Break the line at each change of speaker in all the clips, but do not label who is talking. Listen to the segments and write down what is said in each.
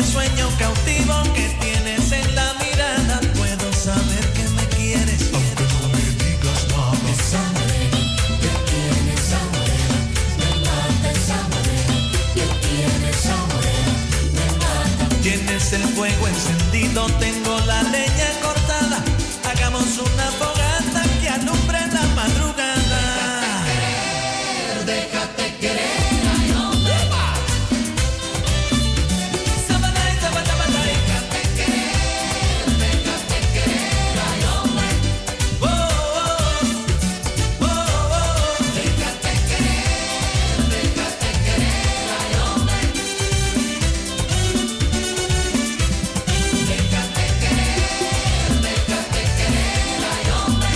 sueño cautivo que tienes en la mirada. Puedo saber que me quieres, aunque no me digas nada.
Esa morena que tiene, esa morena me mata. Esa morena que tiene, esa morena me mata.
Tienes el fuego encendido, tengo la leña cortada. Hagamos una fogata que alumbre la madrugada.
Déjate querer, ay hombre.
Sabanay, sabanay,
Déjate querer, ay hombre.
oh, oh, oh, oh.
Déjate querer, ay hombre. Déjate querer, ay hombre.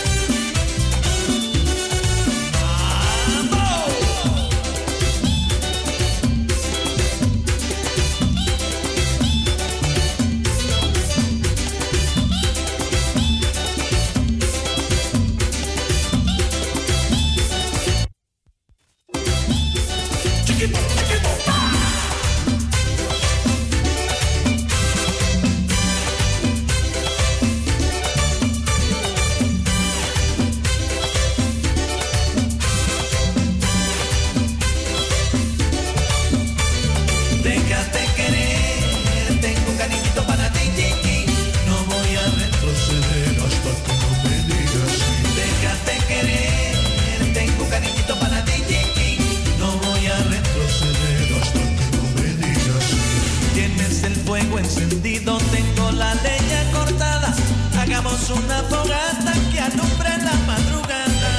Déjate querer, tengo un cariñito para ti, chiqui. No voy a retroceder hasta que no me digas sí. Déjate querer, tengo un cariñito para ti, chiqui. No voy a retroceder hasta que no me digas sí. Tienes el fuego encendido, tengo la leña cortada. Hagamos una fogata que alumbre la madrugada.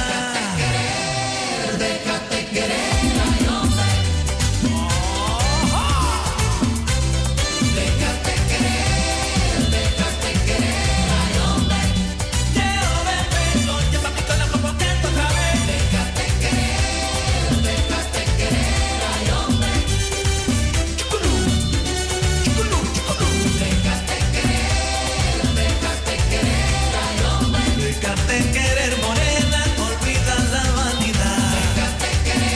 Déjate querer, ay hombre. Déjate querer, ay hombre.
Quiero ver beso, llévame con la copa que otra vez.
Déjate querer, ay hombre.
Chuculú, chuculú, chuculú.
Déjate querer, ay hombre.
Déjate querer, morena, olvida la vanidad.
Déjate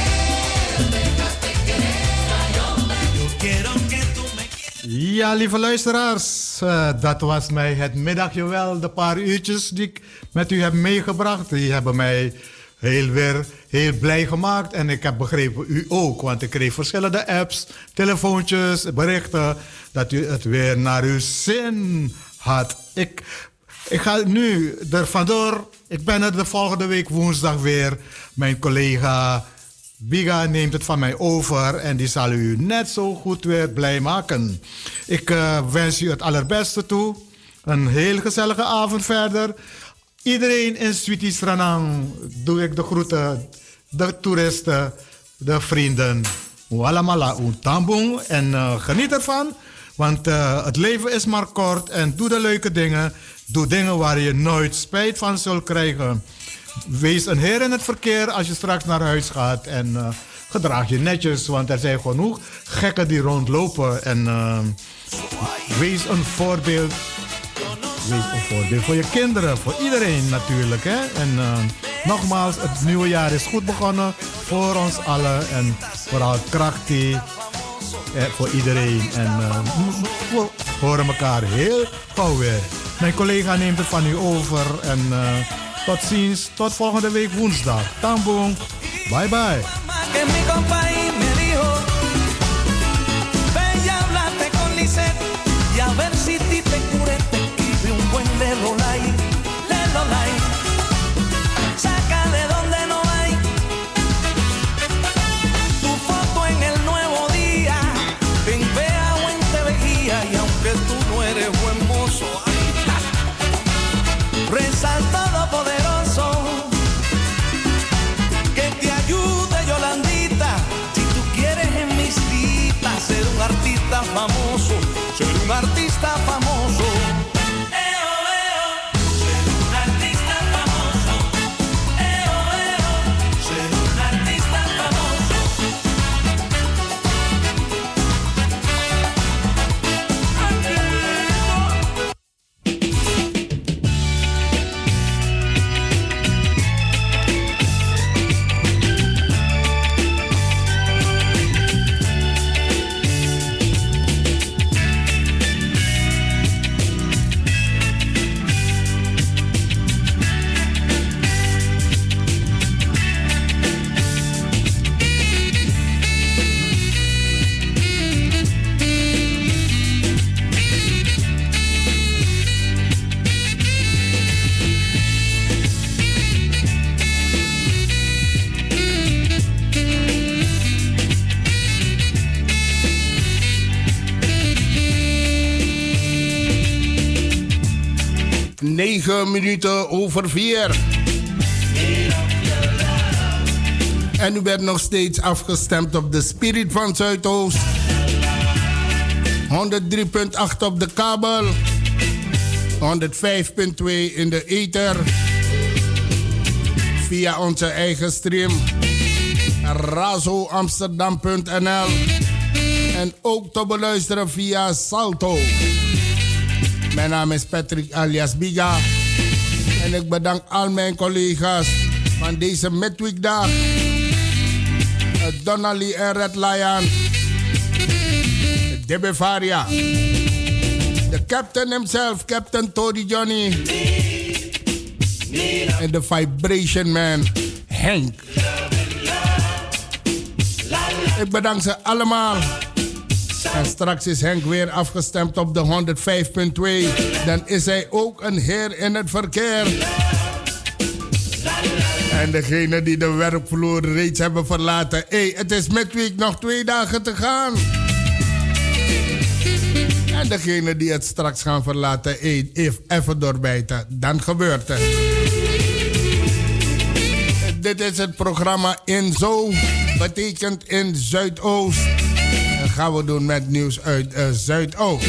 querer, ay hombre.
Yo quiero que tú me quieras.
Ja, lieve luisteraars, dat was mij het middagje wel. De paar uurtjes die ik met u heb meegebracht, die hebben mij weer heel blij gemaakt. En ik heb begrepen, u ook, want ik kreeg verschillende apps, telefoontjes, berichten, dat u het weer naar uw zin had. Ik ga nu er vandoor. Ik ben er de volgende week woensdag weer. Mijn collega Biga neemt het van mij over en die zal u net zo goed weer blij maken. Ik wens u het allerbeste toe. Een heel gezellige avond verder. Iedereen in Sweetie Stranang doe ik de groeten. De toeristen, de vrienden. Walamala untambung. En geniet ervan. Want het leven is maar kort. En doe de leuke dingen. Doe dingen waar je nooit spijt van zult krijgen. Wees een heer in het verkeer als je straks naar huis gaat. En gedraag je netjes, want er zijn genoeg gekken die rondlopen. En wees een voorbeeld. Wees een voorbeeld voor je kinderen, voor iedereen natuurlijk. Hè? En nogmaals, het nieuwe jaar is goed begonnen voor ons allen. En vooral krachtig voor iedereen. En we horen elkaar heel gauw weer. Mijn collega neemt het van u over. En tot ziens, tot volgende week woensdag. Tambong, bye bye.
Que mi compañía me dijo, ve y háblate con Lisette y a ver si ti te cure, te escribe un buen lelolay, lelolay. Saca de donde no hay tu foto en el Nuevo Día, en Vea o en Tevejía, y aunque tú no eres buen mozo, reza al Todopoderoso que te ayude, Yolandita, si tú quieres en mis citas ser un artista famoso, ser un artista famoso. Ser un artista famoso. Ser un artista famoso.
9 minuten over 4. En u bent nog steeds afgestemd op de Spirit van Zuidoost. 103.8 op de kabel. 105.2 in de ether. Via onze eigen stream. razoamsterdam.nl. En ook te beluisteren via Salto. Mijn naam is Patrick alias Biga. En ik bedank al mijn collega's van deze midweekdag. Donnelly en Red Lion. De Bavaria. De captain himself, Captain Tony Johnny. En de Vibration Man, Henk. Ik bedank ze allemaal. En straks is Henk weer afgestemd op de 105.2. Dan is hij ook een heer in het verkeer. En degene die de werkvloer reeds hebben verlaten. Het is midweek, nog 2 dagen te gaan. En degene die het straks gaan verlaten, even doorbijten. Dan gebeurt het. Dit is het programma In Zo. Betekent in Zuidoost. Dat gaan we doen met nieuws uit Zuidoost.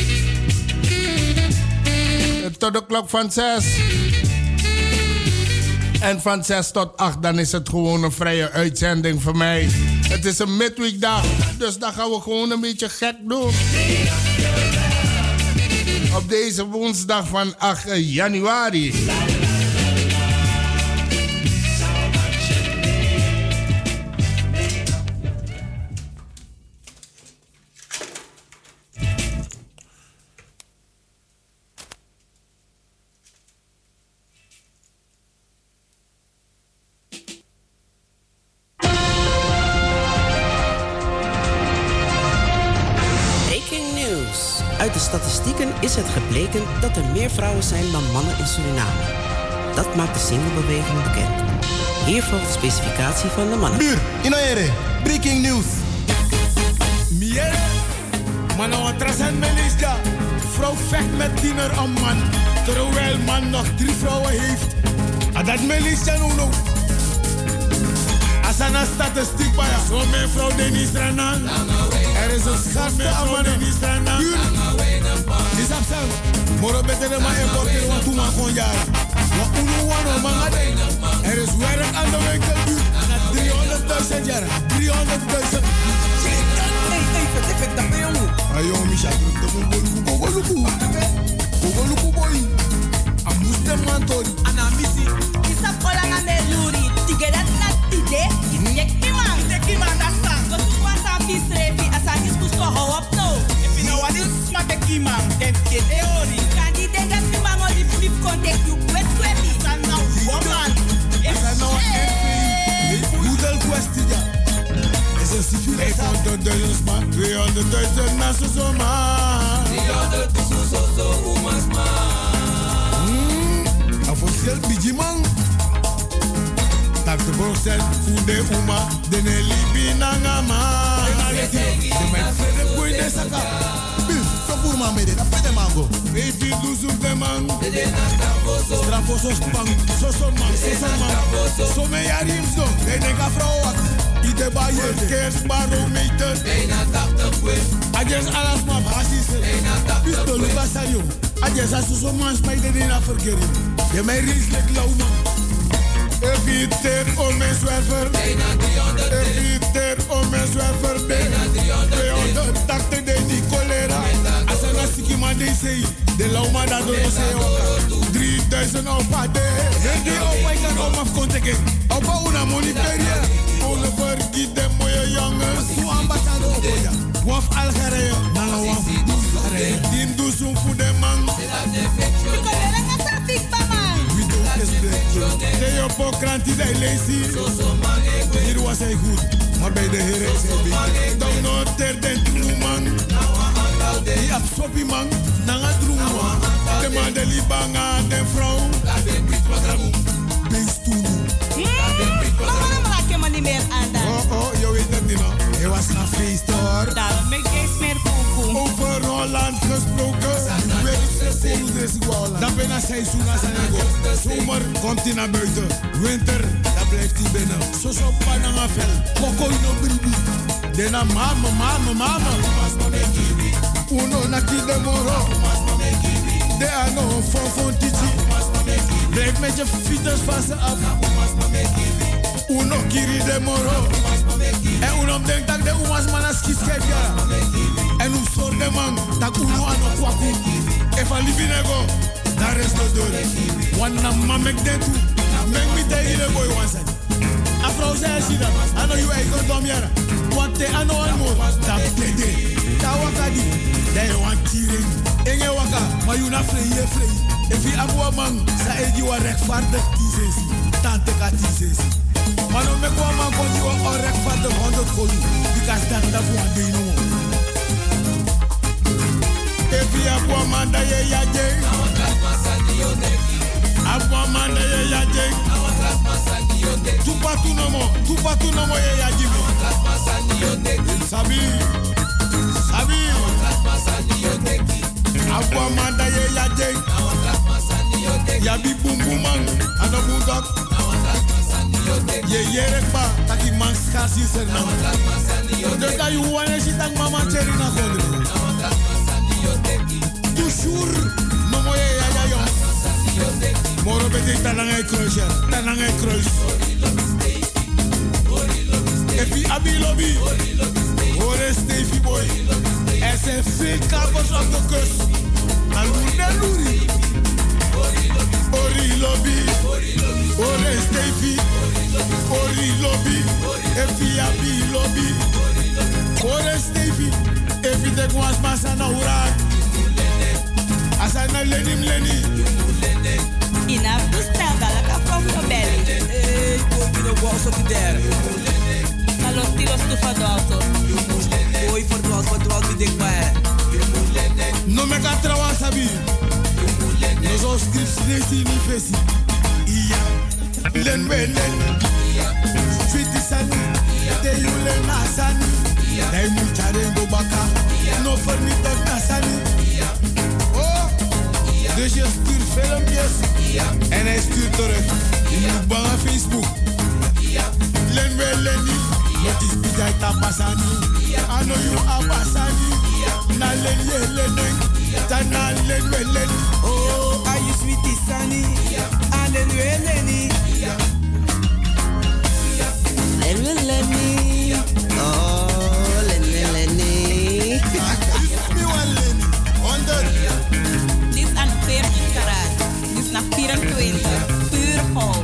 Tot de klok van 6. En van 6 tot 8 dan is het gewoon een vrije uitzending voor mij. Het is een midweekdag, dus dan gaan we gewoon een beetje gek doen. Op deze woensdag van 8 januari.
Uit de statistieken is het gebleken dat er meer vrouwen zijn dan mannen in Suriname. Dat maakt de singlebeweging bekend. Hier volgt de specificatie van de mannen.
Buur, Inaere, breaking news.
Mier, mannen wat trasend melisja. Vrouw vecht met tiener een man, terwijl man nog 3 vrouwen heeft. En dat melisja nu. Als een statistiek bij zo mijn vrouw Denis Renan. Er is een schatste aan man Denis Renan. Is absent. Moro beter maar importeren wat toen maar gewoon jaren. Wat uno wano man. Er is werk aan de winkelbuur. Na 300.000 jaar. 300.000. Even dat bij jou. Ayo, Misha, dat is een Kogoluku boy. Amuste mantori.
Anamisi. Isa polanga me luri. Tigerat na tide. Inek iman. Inek iman dat sang. Wat is wat aan visrevi. Asang is kus ko hou up no. If you know what is smack iman. Dem ke theory. Kan die denga iman oli brief contact you. Wet kwebi. San na woman.
San na Moedel kwestie ja. Is een civiele 500.000 man. 200.000 na zo man. 300.000 zo umas man. Officieel biji man. Tak de procent fude uma. De ne libi nanga man. De met vrede boy de saka.
So voor man met dit, dat pet de mango.
Baby lose op de man. Strafoso spang. So man. So me yarim zo. De nega vrouw wat. Ide ba je kerst barometer. Bijna 80 kwe. Ajes alas ma basis. Bijna 80 kwe. Pisto luka sayo. Ajes asuso man spijt de na verkering. Je mij rieslijk lauw man. Eviter om mijn zwerver. Bijna 300. Eviter om mijn zwerver. Bijna 300. 280 de die cholera. Als een lastige man die zei. De lauw man dat door de 3000 op pade. Die op ik kan om afkonteken. Op een monitoria. Oliver giet de mooie jongens. Hoe ambassadeur op ja. Waf Algerije. Nou waf Algerije. Die doet zo'n voor de man. De op krantie die lezen. Hier was hij goed, maar bij de Heer is hij beter. Dan nog ter den man. Die absorbie man, nanga droom. De man de libanga, de vrouw. Beest toe. Oh, je weet het niet nog. Hij was naar feest hoor.
Daarom ben ik eens meer poepoe.
Over Holland gesproken. Dan ben je seizoen als een ego. Zomer komt hij naar buiten. Winter, dan blijft hij binnen. Zo zo pananga vel. Koko ino bribi. Dena mama. Uno naki de moro. De ano fon titi. Blijf met je fietsers van ze af. Uno kiri de moro. En uno denkt dat de umas manas kiskef ja. En u soort de man dat uno ano kwaku. If I live in a go, daar is de deur. Wanna mamek de tu. Mek mi te ile boy wansen. Afro zei si dat. Ano you eigen dom jara. Want te ano almo. Dat pede. Ta wakadi. Da je wan kiring. Enge waka. Maar you na vrije. If je abwa man. Sa egi wa rechtvaardig kiezen. Tante ka kiezen. Maar no mek wa man kon je wa onrechtvaardig 100 kolu. Because dat voor een ding no. Efi abwa manda ye yaje. Abwa manda ye yaje. Tupa tu nomo ye yaje. Sabi. Abwa manda ye yaje. Yabi bumbuman. Ano bundok. Ye yerekba. Taki man skasi sernam. Dus dat je wanneer je dan mama cherry na gondre. Toujours, no moye ya yo. Moro bete tanangay kruis. Epi abi lobby. Ore Stevie boy. Er zijn veel kapers op de kust. Aluri. Ori lobby. Ore Stevie. Ori lobby. Epi abi lobby. Ore Stevie. Epi de guas masana urak. Asana leni.
Inaf do stel dala ka from belly.
Ei, boy, no bolso que der.
Na los tiros tu fadoso.
Boy, for me dik maar.
No me ka trawa sabi. No zo scripts nesi ni fesi. Iya. Len welen. Fiti sani. Te yule na sani. Dai mu charengo baka. No for me tek na sani. Dus je stuurt filmpjes en hij stuurt terug. Je moet bang aan Facebook. Len we leni, wat is bijai tapasani? Ano you abasani? Na len ye lenen, tana len we leni.
Oh, are you sweetie sunny? Alen we leni.
Len we leni. Oh, len we leni.
Mi wan leni, 100.
Dit is aan 14 karat. Dit is naar 24. Puur goud.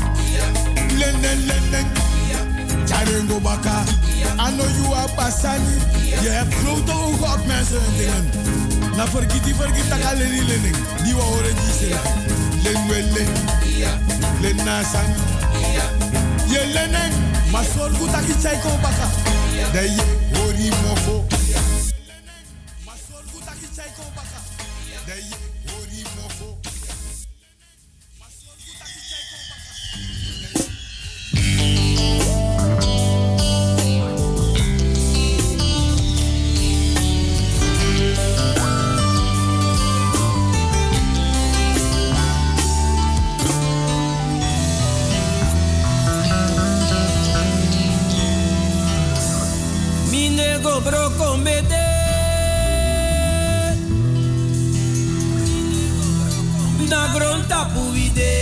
Len. Charengo baka. Ano you abasani? Je hebt grote ogen op mensen en dingen. Na vergiet dat alle lening. Die we horen die zeggen. Len we len. Len na sani. Je lenen. Maar zorg goed dat je chaiko baka. Dat je hori mofo. Maar zorg goed dat je chaiko baka. Dat je hori mofo. Maar zorg goed dat je chaiko baka.
Minego broko mede. Na gronta puide.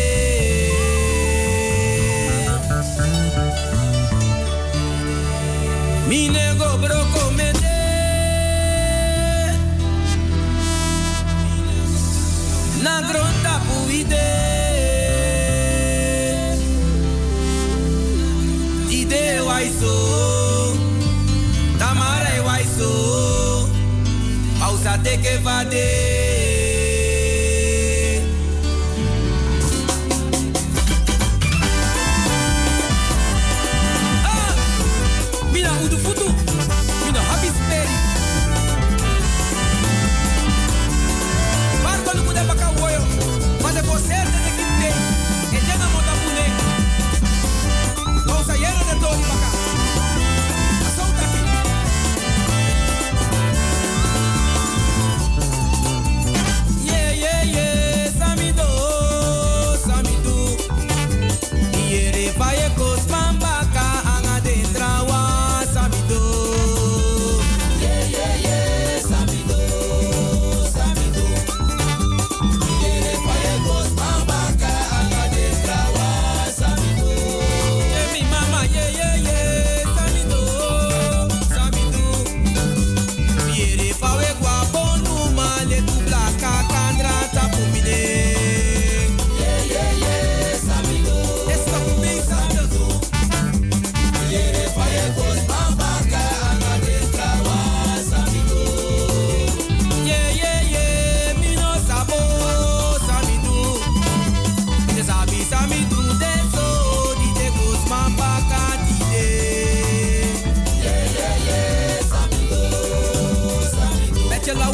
Minego broko mede. Na gronta puide. Ide waiso. Tamara waiso. Pausa teke vade.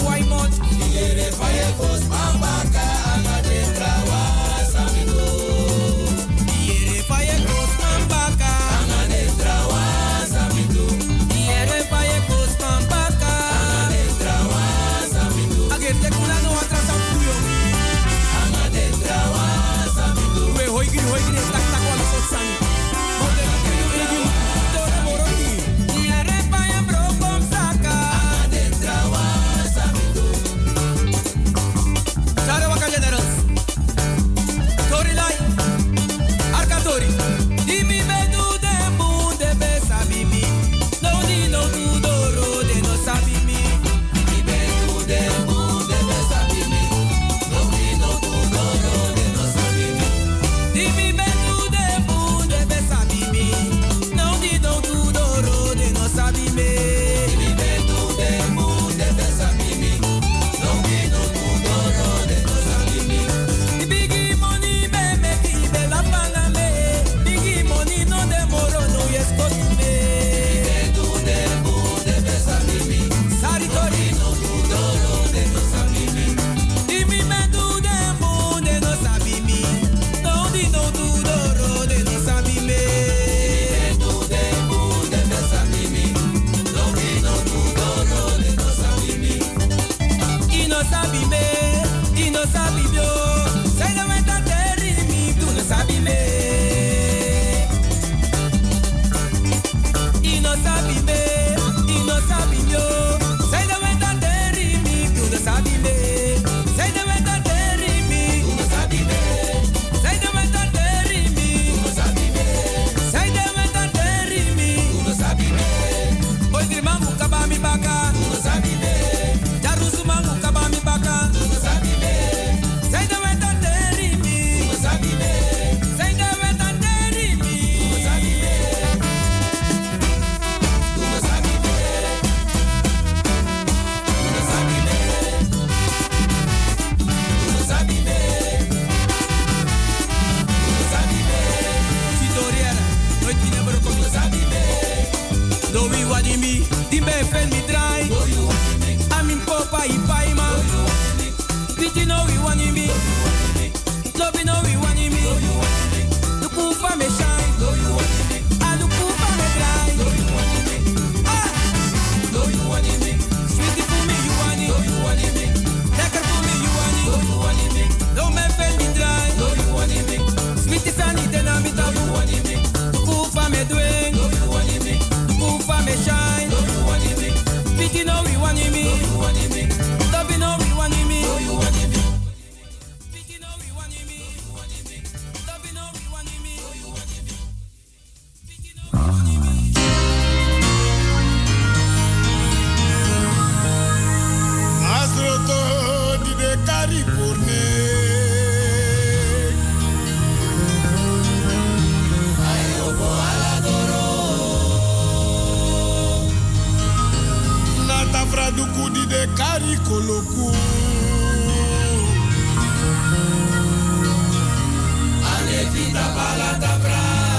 waimot.
Iere faye kos mambaka anga de trawa samigo.
Iere faye kos mambaka
anga de trawa samigo.
Iere faye kos mambaka
anga de trawa samigo.
Ager te kuna no atrasa puyo.
Anga de trawa samigo.
We hoigiri tak tak wala so sang. Mode igi tore moroti. Iere faye bro kom saka.
Anga de trawa samigo.
Chare waka generals. Tori lai. Arka tori. Dimi bedu de bunde be sabimi. No di no tu doro de no sabimi.
Dimi bedu de bunde be sabimi. No di no tu doro de no sabimi.
Dimi bedu de bunde be sabimi. No di no tu doro de no sabimi.
Dimi bedu de bunde be sabimi. No di no tu doro de no sabimi.
Biggie money be make be la fana me. Biggie money no de moro no yes go to me.
Bedu de bunde be sabimi.
Sari tori
No tu doro de no sabimi.
Dimi bedu de bunde no sabimi. No di no tu doro de no sabimi.
Bedu de bunde be sabimi. No di no tu doro de no sabimi.
Ino sabi me, ino sabi bio. Sai da meta terri mi, tu no sabi me. Ino sabi me, ino sabi bio. Sai da meta terri mi, tu no sabi me. Sai da meta terri mi,
Tu no sabi me.
sai da meta terri mi.
Tu no sabi me.
Sai da meta terri mi.
Tu no sabi me.
Oi grimangu kabami baka.
Tu no sabi me.
Jarusu mangu kabami baka.
Tu no sabi me.
Sai da meta terri mi.
Tu no sabi me.
Sai da meta terri mi.
Tu no sabi me. Tu no sabi me. Tu no sabi me. Tu no sabi me. Tu no sabi me.
Sitoriera, nooit die never kom.
Tu no sabi me.
Do we want me? Die ben fan me dry.
Do you want me?
Amin popa i paima.
Do you want me?
Did you know we want me? Love you know we want me.
Do you want me?
The kufa me shine.
Do you want me?
And the kufa me dry.
Do you want me?
Ah,
Do you want me?
sweetie for me you want
Do
it.
you want me?
Lekker for me you want
Do
it.
you want me?
Do me fan me dry.
Do you want me?
Sweetie sani tena mi
Do
tabu.
you want me?
The kufa me dweng.
Do you want me?
The kufa me shine.
Do you want me?
Did you know we want me?
Do you want me?
Love you know we want me.
Do you want me?
Did you know we want me? Love you know we want me. Do you want me?
Asroto di de Caripurne. Nata fraduku di de Caricoloku.
Anevita balata bra.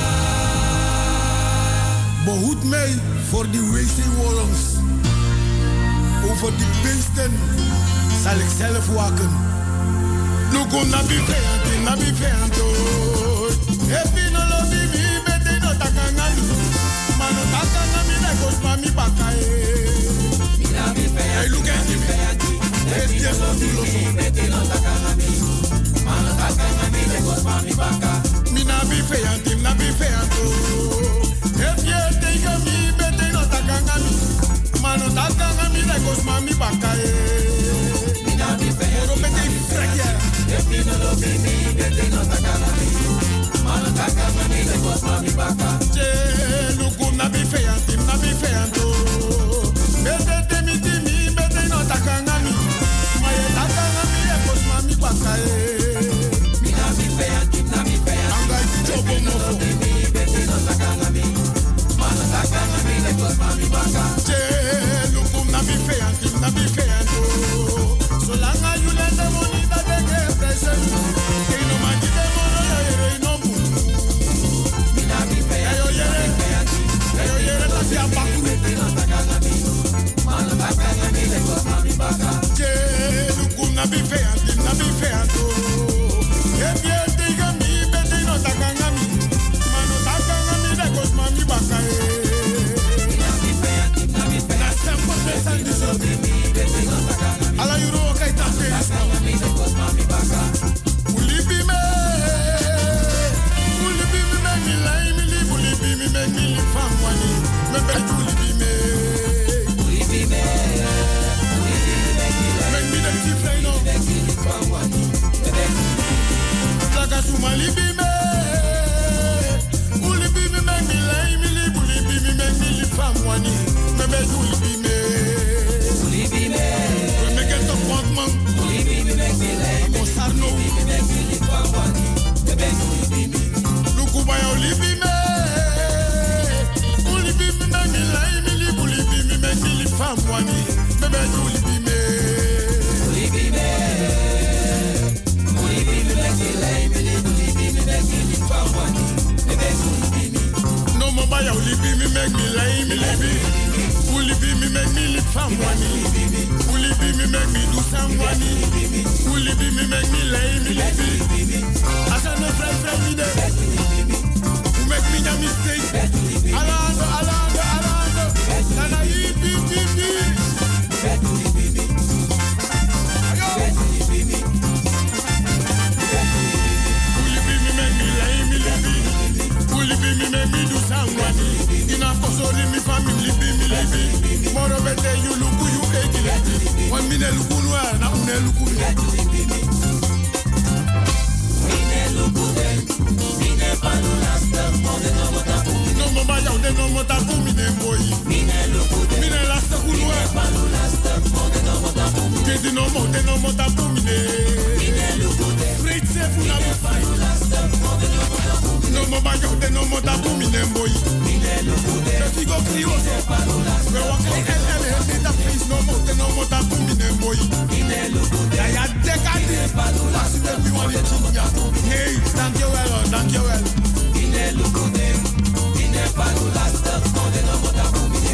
Behoed mij voor die wc-wallens. Over die beesten zal ik zelf waken. Luko na bivento, na bivento. Epi no lo bibi, bete no takangami. Mano takangami na kosma mi bakae. Hey, look at him. Hey, yes, I'm the loso. Mina bivento, na bivento. Epi tega mi, bete no takangami. Mano takangami na kosma mi bakae. Moro bete frekia. Che, luku na bivento, na bivento. Bete temi timi, bete no takangami. Maye takangami e kosma mi bakae. Anga jobo mofo. Che, luku na bivento, na bivento.
libi me. Ulibi me make me lay me libi. Ulibi me make me libi famwani. Me be ulibi me. Ulibi me. We make it up want man. Ulibi me make me lay. Mosarno. Ulibi me make me libi famwani. Me be ulibi me. Lukuba ya ulibi me. Ulibi me make me lay me libi. Ulibi me make me libi famwani. Me be ulibi me. Ulibi me. No more buy only be me make me lie me libi. Only be me make me live famwani. Only be me make me do samwani. Only be me make me lie me libi. As I no friend me there. Who make me a mistake? Alando. Nana yi bi. Me make me do somebody. Enough for so me family be me libi. Moro bete you look you age. 1 minute look no na une look. Mine look dem. Mine panu lasta mode no mota. No mama ya de no mota pu mine boy. Mine look dem. Mine lasta ku no panu lasta mode no mota. Kedi no mota pu mine. Mine look dem. Great safe na panu lasta mode no mota. No mama ya de no mota pu mine boy. Mine look dem. The figo crioso panu lasta. We walk like LL the face no mota pu mine boy. Mine look dem. Ya decade panu lasta me wali chinya. Hey, thank you well. Mine look dem. Mine panu lasta mode no mota pu mine.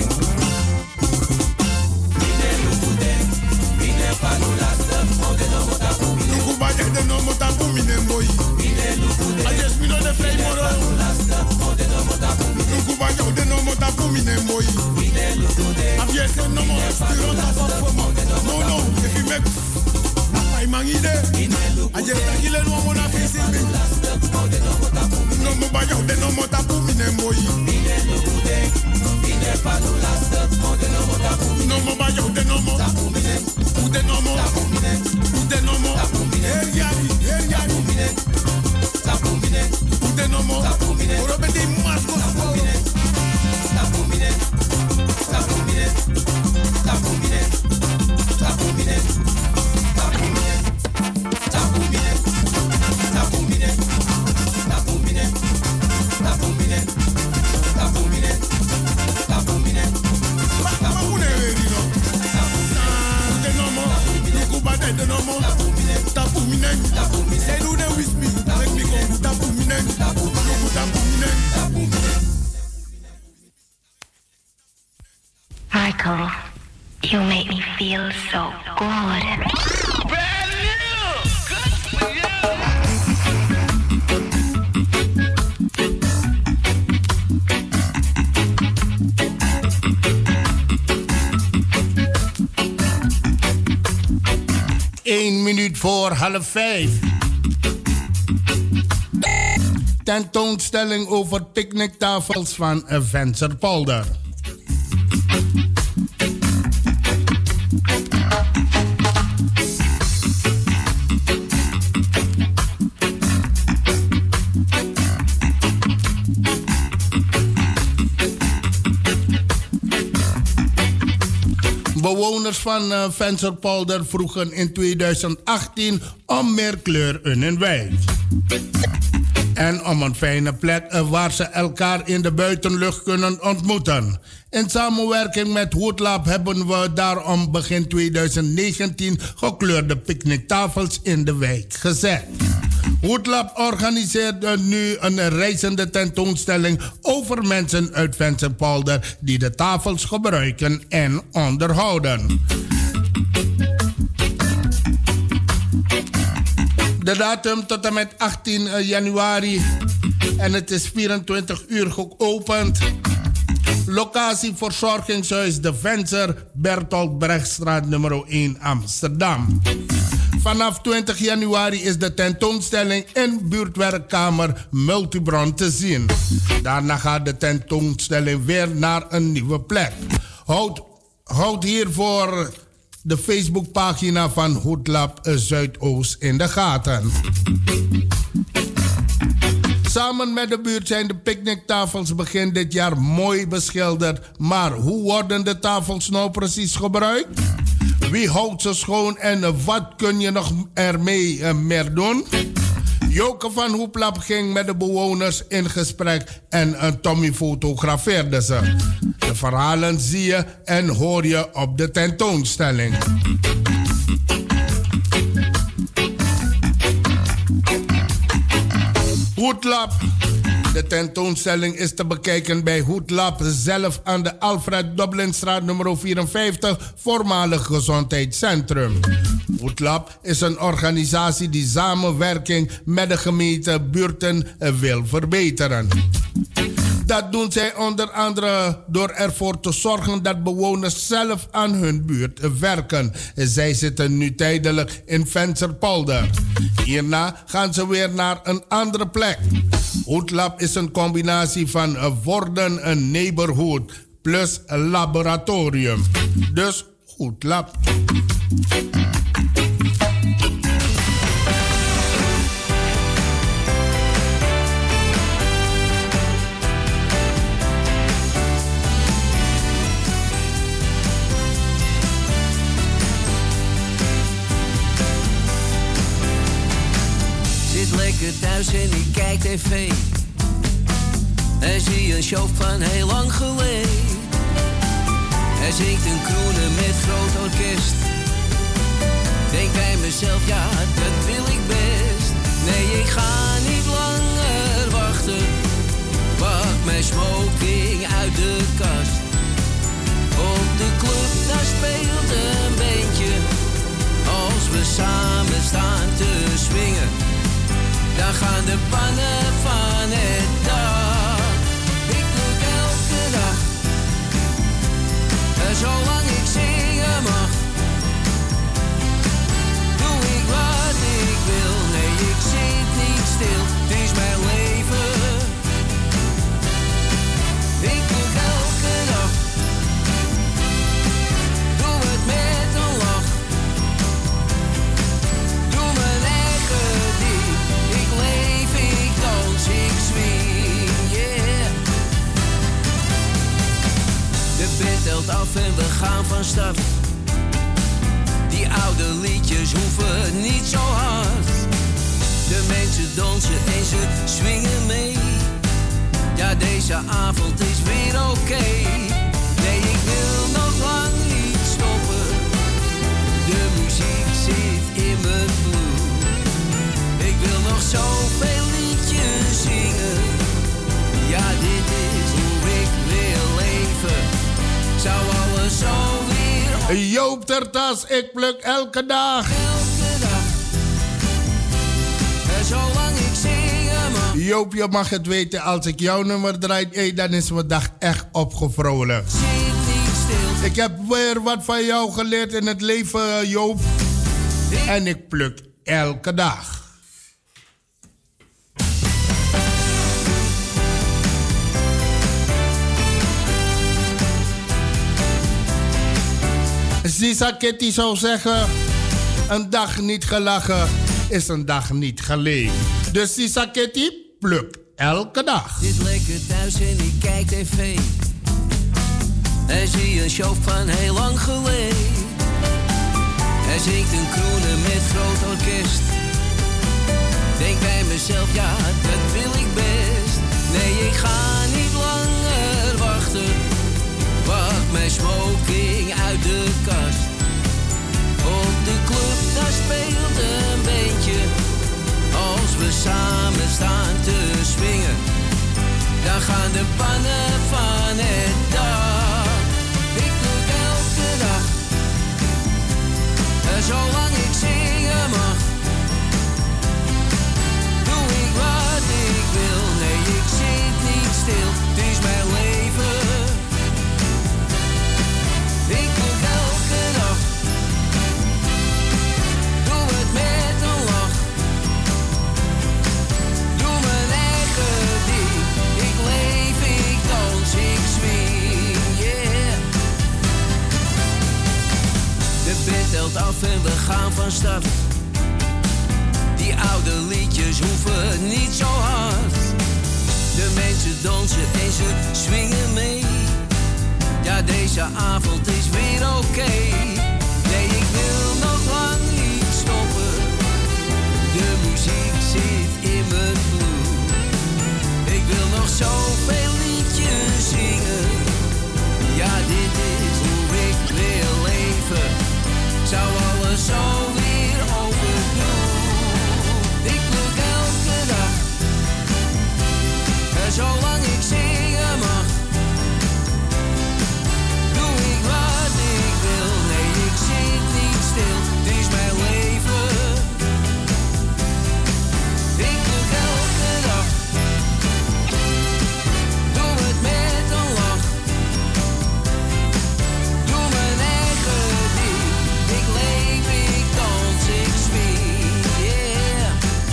Mine look dem. Mine panu lasta mode no mota pu mine. Look ba de no mota pu mine boy. Mine look dem. I just me no de frame moro. Lasta mode no mota pu mine. Look ba de no mota pu mine boy. Mine look dem. I'm just no more still on top of no. If you make I mangide. I just kill no more na face me. No more ba de no mota pu mine boy. Mine look dem. Mine panu lasta mode no mota pu mine. No more ba de no more. Ude no more. Ude no more. Eriari. Tapumine. Ude no more. Orobete masko tapumine. Tapumine.
Michael, you make me feel so good.
Brand new! Good for you!
1 minuut voor 4:30. Tentoonstelling over picknicktafels van Vensterpolder. Bewoners van Vensterpolder vroegen in 2018 om meer kleur in hun wijk. En om een fijne plek waar ze elkaar in de buitenlucht kunnen ontmoeten. In samenwerking met Woodlab hebben we daarom begin 2019 gekleurde picknicktafels in de wijk gezet. Woodlab organiseert nu een reizende tentoonstelling over mensen uit Vensterpolder die de tafels gebruiken en onderhouden. De datum tot en met 18 januari en het is 24 uur geopend. Locatie verzorgingshuis De Venster, Bertolt Brechtstraat nummer 1 Amsterdam. Vanaf 20 januari is de tentoonstelling in buurtwerkkamer Multibron te zien. Daarna gaat de tentoonstelling weer naar een nieuwe plek. Houd hiervoor de Facebookpagina van Woodlab Zuidoost in de gaten. Samen met de buurt zijn de picknicktafels begin dit jaar mooi beschilderd. Maar hoe worden de tafels nou precies gebruikt? Wie houdt ze schoon en wat kun je nog ermee meer doen? Joke van Hoeplap ging met de bewoners in gesprek en Tommy fotografeerde ze. De verhalen zie je en hoor je op de tentoonstelling. Hoedlap. De tentoonstelling is te bekijken bij Hoedlap zelf aan de Alfred Dublinstraat nummer 54, voormalig gezondheidscentrum. Hoedlap is een organisatie die samenwerking met de gemeente buurten wil verbeteren. Dat doen zij onder andere door ervoor te zorgen dat bewoners zelf aan hun buurt werken. Zij zitten nu tijdelijk in Vensterpolder. Hierna gaan ze weer naar een andere plek. Hoedlab is een combinatie van worden een neighborhood plus een laboratorium. Dus Hoedlab.
Lekker thuis en ik kijk tv. En zie een show van heel lang geleden. Hij zingt een kroenen met groot orkest. Denk bij mezelf, ja, dat wil ik best. Nee, ik ga niet langer wachten. Pak mijn smoking uit de kast. Op de club, daar speelt een beentje. Als we samen staan te swingen, dan gaan de pannen van het dak. Ik pluk elke dag, zolang ik zingen mag. Doe ik wat ik wil, nee ik zit niet stil. Het is mijn leven. Ik pluk elke dag, doe het met een lach. Doe mijn eigen ding. Ik leef, ik dans, ik swing, yeah. De band telt af en we gaan van start. Die oude liedjes hoeven niet zo hard. De mensen dansen en ze swingen mee. Ja, deze avond is weer oké. Nee, ik wil nog lang niet stoppen. De muziek zit in mijn bloed. Ik wil nog zoveel liedjes zingen. Ja, dit is hoe ik wil leven. Zou alles zo weer...
Joop Tertas, ik pluk elke dag.
Elke dag. En zolang ik zingen mag.
Joop, je mag het weten, als ik jouw nummer draai, hey, dan is mijn dag echt opgevrolijkt.
Zit niet stil.
Ik heb weer wat van jou geleerd in het leven, Joop. En ik pluk elke dag. Sisa Kitty zou zeggen, een dag niet gelachen is een dag niet geleefd. Dus Sisa Kitty, pluk elke dag.
Zit lekker thuis en ik kijk tv. En zie een show van heel lang geleden. Hij zingt een kroenen met groot orkest. Denk bij mezelf, ja, dat wil ik best. Nee, ik ga niet langer wachten. Pak mijn smoking uit de kast. Op de club, daar speelt een beentje. Als we samen staan te swingen, dan gaan de pannen van het dak. Ik pluk elke dag, zolang ik zingen mag. Doe ik wat ik wil, nee ik zit niet stil. Het is mijn leven. Ik pluk elke dag, doe het met een lach. Doe mijn eigen ding. Ik leef, ik dans, ik swing, yeah. De band telt af en we gaan van start. Die oude liedjes hoeven niet zo hard. De mensen dansen en ze swingen mee. Ja, deze avond is weer oké. Nee, ik wil nog lang niet stoppen. De muziek zit in mijn bloed. Ik wil nog zoveel liedjes zingen. Ja, dit is hoe ik wil leven. Zou alles zo weer overdoen. Ik pluk elke dag. En zolang ik zingen mag, doe ik wat ik wil. Nee, ik zit niet stil. Het is mijn leven. Ik pluk elke dag. Doe het met een lach. Doe mijn eigen ding. Ik leef, ik dans, ik swing, yeah.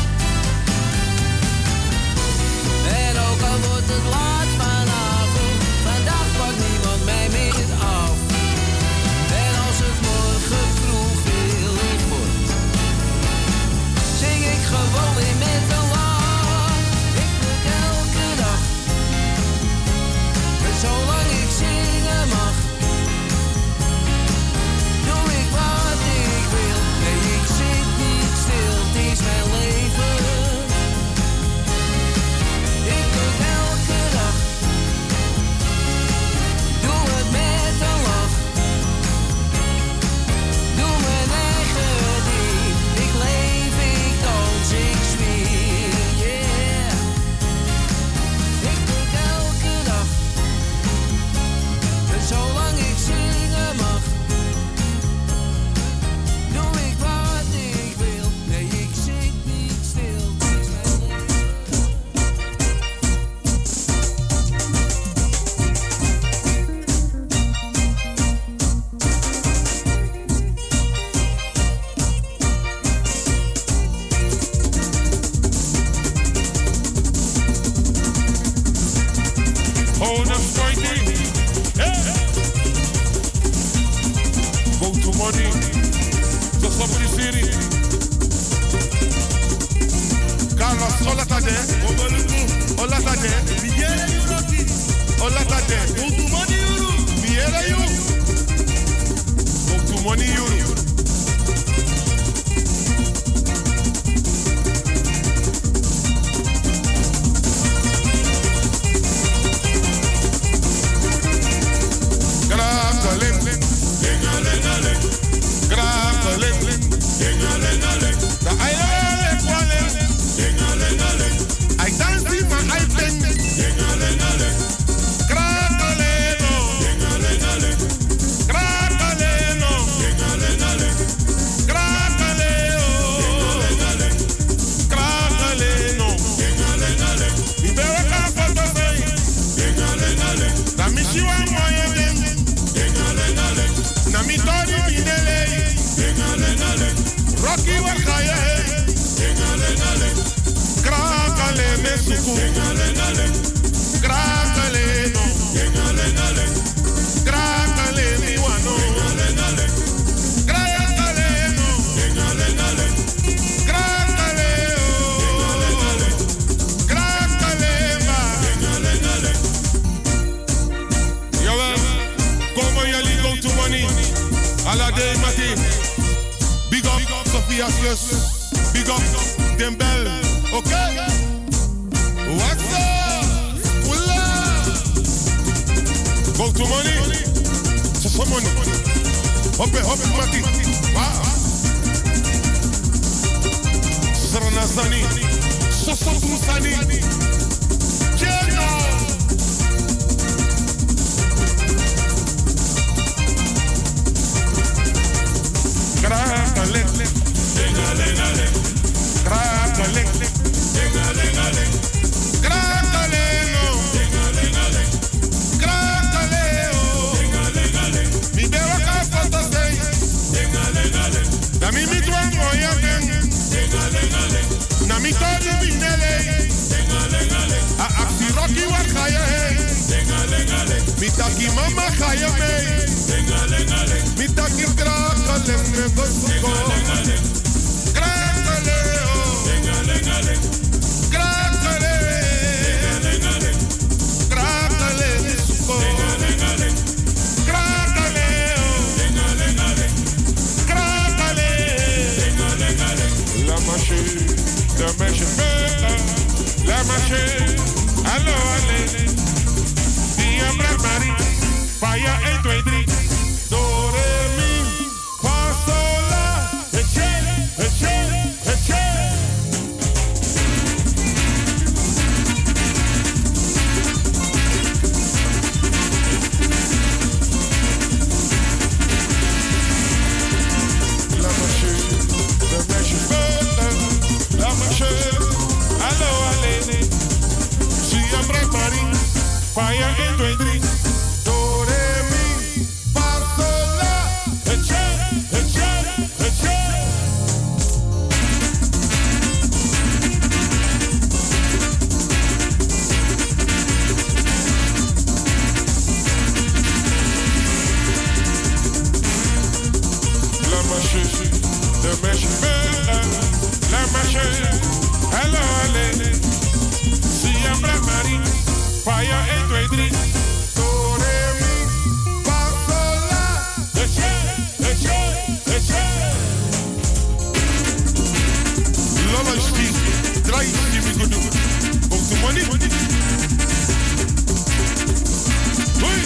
En ook al wordt het laat vanavond, vandaag pakt niemand mij meer af. En als het morgen vroeg weer licht wordt, zing ik gewoon weer met een lach. Ik pluk elke dag. En zolang ik zingen mag, doe ik wat ik wil. Nee, ik zit niet stil, het is mijn leven. Ik pluk elke dag. Doe het met een lach. Doe mijn eigen ding. Ik leef, ik dans, ik swing, yeah. Ik pluk elke dag. En zolang ik zingen mag, doe ik wat ik wil. Nee, ik zit niet stil, het is mijn leven.
Hold up, fighting. Hey. Go to money. Just up the city. Carlos, hola tade. Hola tade. Hola tade. Go to money euro. Viera you. Go to money euro. Grappelen, dingalengaling, grappelen, dingalengaling. The island kwalen, dingalengaling. I dance in my iPhone, dingalengaling. Grappeleno, dingalengaling. Grappeleno, dingalengaling. Grappeleo, dingalengaling. Grappeleno, dingalengaling. Mi bebe kapoto say, dingalengaling. Da mi shiwa moye den. Na mi tori binele, Rocky Wakaya, Krakale mesuku, Krakale no, Krakale miwano, Krakale no, Krakale o, Krakale ma. Jawel, kom maar jullie go to money. Alade Mati, big up Sophia's Plus, big up Dembel, okay? What's up? Pulla! Go to money, so money. Hoppe Mati, wow. Sarana Zani, so Sani, Jeno. Grappelen, dingalengaling. Grappelen, dingalengaling. Grappeleno, dingalengaling. Grappeleo, dingalengaling. Mi beba kapoto say, dingalengaling. Da mi mitwa moya den, dingalengaling. Na mi tori binele, dingalengaling. A aksi Rocky Wakaya, dingalengaling. Mi taki mama kaya me, dingalengaling. Mi taki grappelen me gosuko. Grappeleo, dingalengaling. Grappeleo. Le mèche, la mèche, hello, allez. Siembra Marie, fire 1, 2, 3. Draai die we goed doen. Ook de money. Hoi.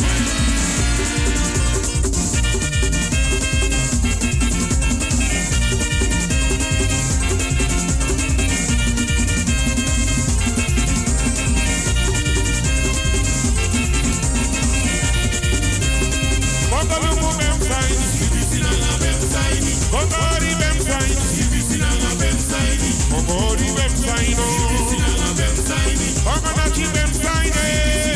Bongolo bem sai. Bongori bem sai. Bongori bem sai no. Bonganachi bem sai ne.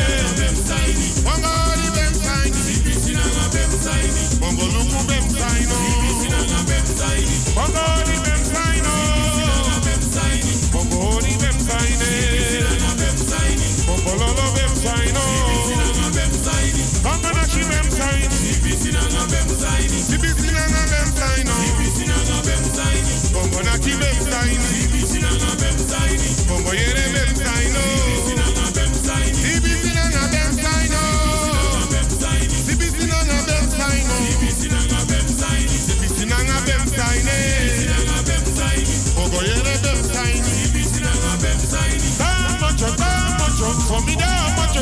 Bongori bem sai. Bongoluku bem sai no. Bongori bem sai no. Bongori bem sai ne. Bongololo bem sai no. Bonganachi bem sai. Sibisinanga bem sai no. Bonganachi bem sai no. Bongo yere bem sai no. Sibisinanga bem sai no. Sibisinanga bem sai no. Sibisinanga bem sai ne. Bongo yere bem sai no. Da mocho, for me da mocho.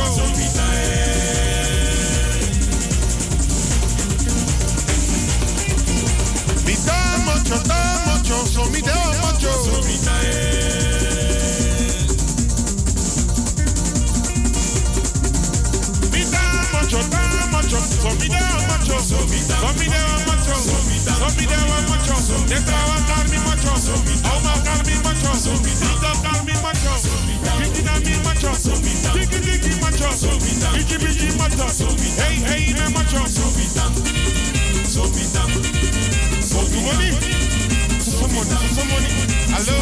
Mi da mocho, so mi da mocho. Macho, so mi da macho, so mi da macho, so mi da macho, de trabajar mi macho, au matar mi macho, de tocar mi macho, pitina mi macho, tiki macho, biji macho, hey me macho, so tu money, hello,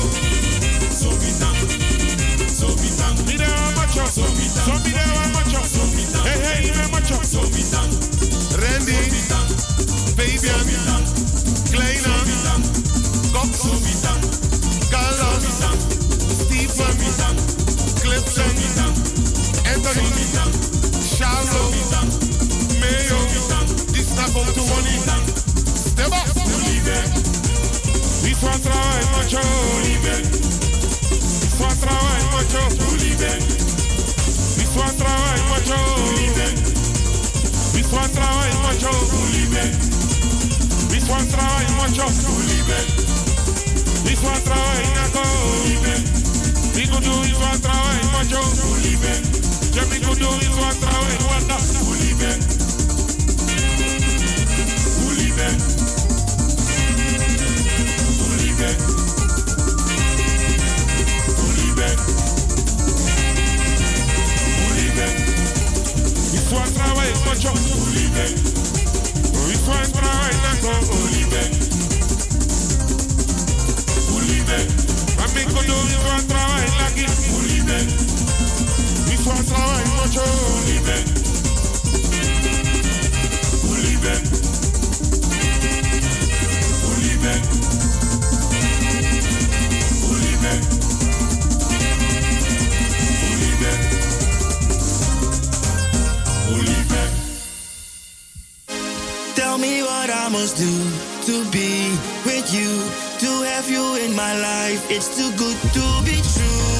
mi da macho, so mi da macho, hey me macho, Randy, Fabian, Kleina, Cox, Carlos, Stephen, Clifton, Anthony, Charlo, Mayo, this not going to money. Step up, this one try macho, this one try macho, this one try macho. This one try macho, this one try macho, this one try nago, we could do this one try macho, yeah we could do this one try wanda, This one try macho. This one try nago. Mami kodo this one try lagi. This one try macho.
Tell me what I must do to be with you, to have you in my life. It's too good to be true.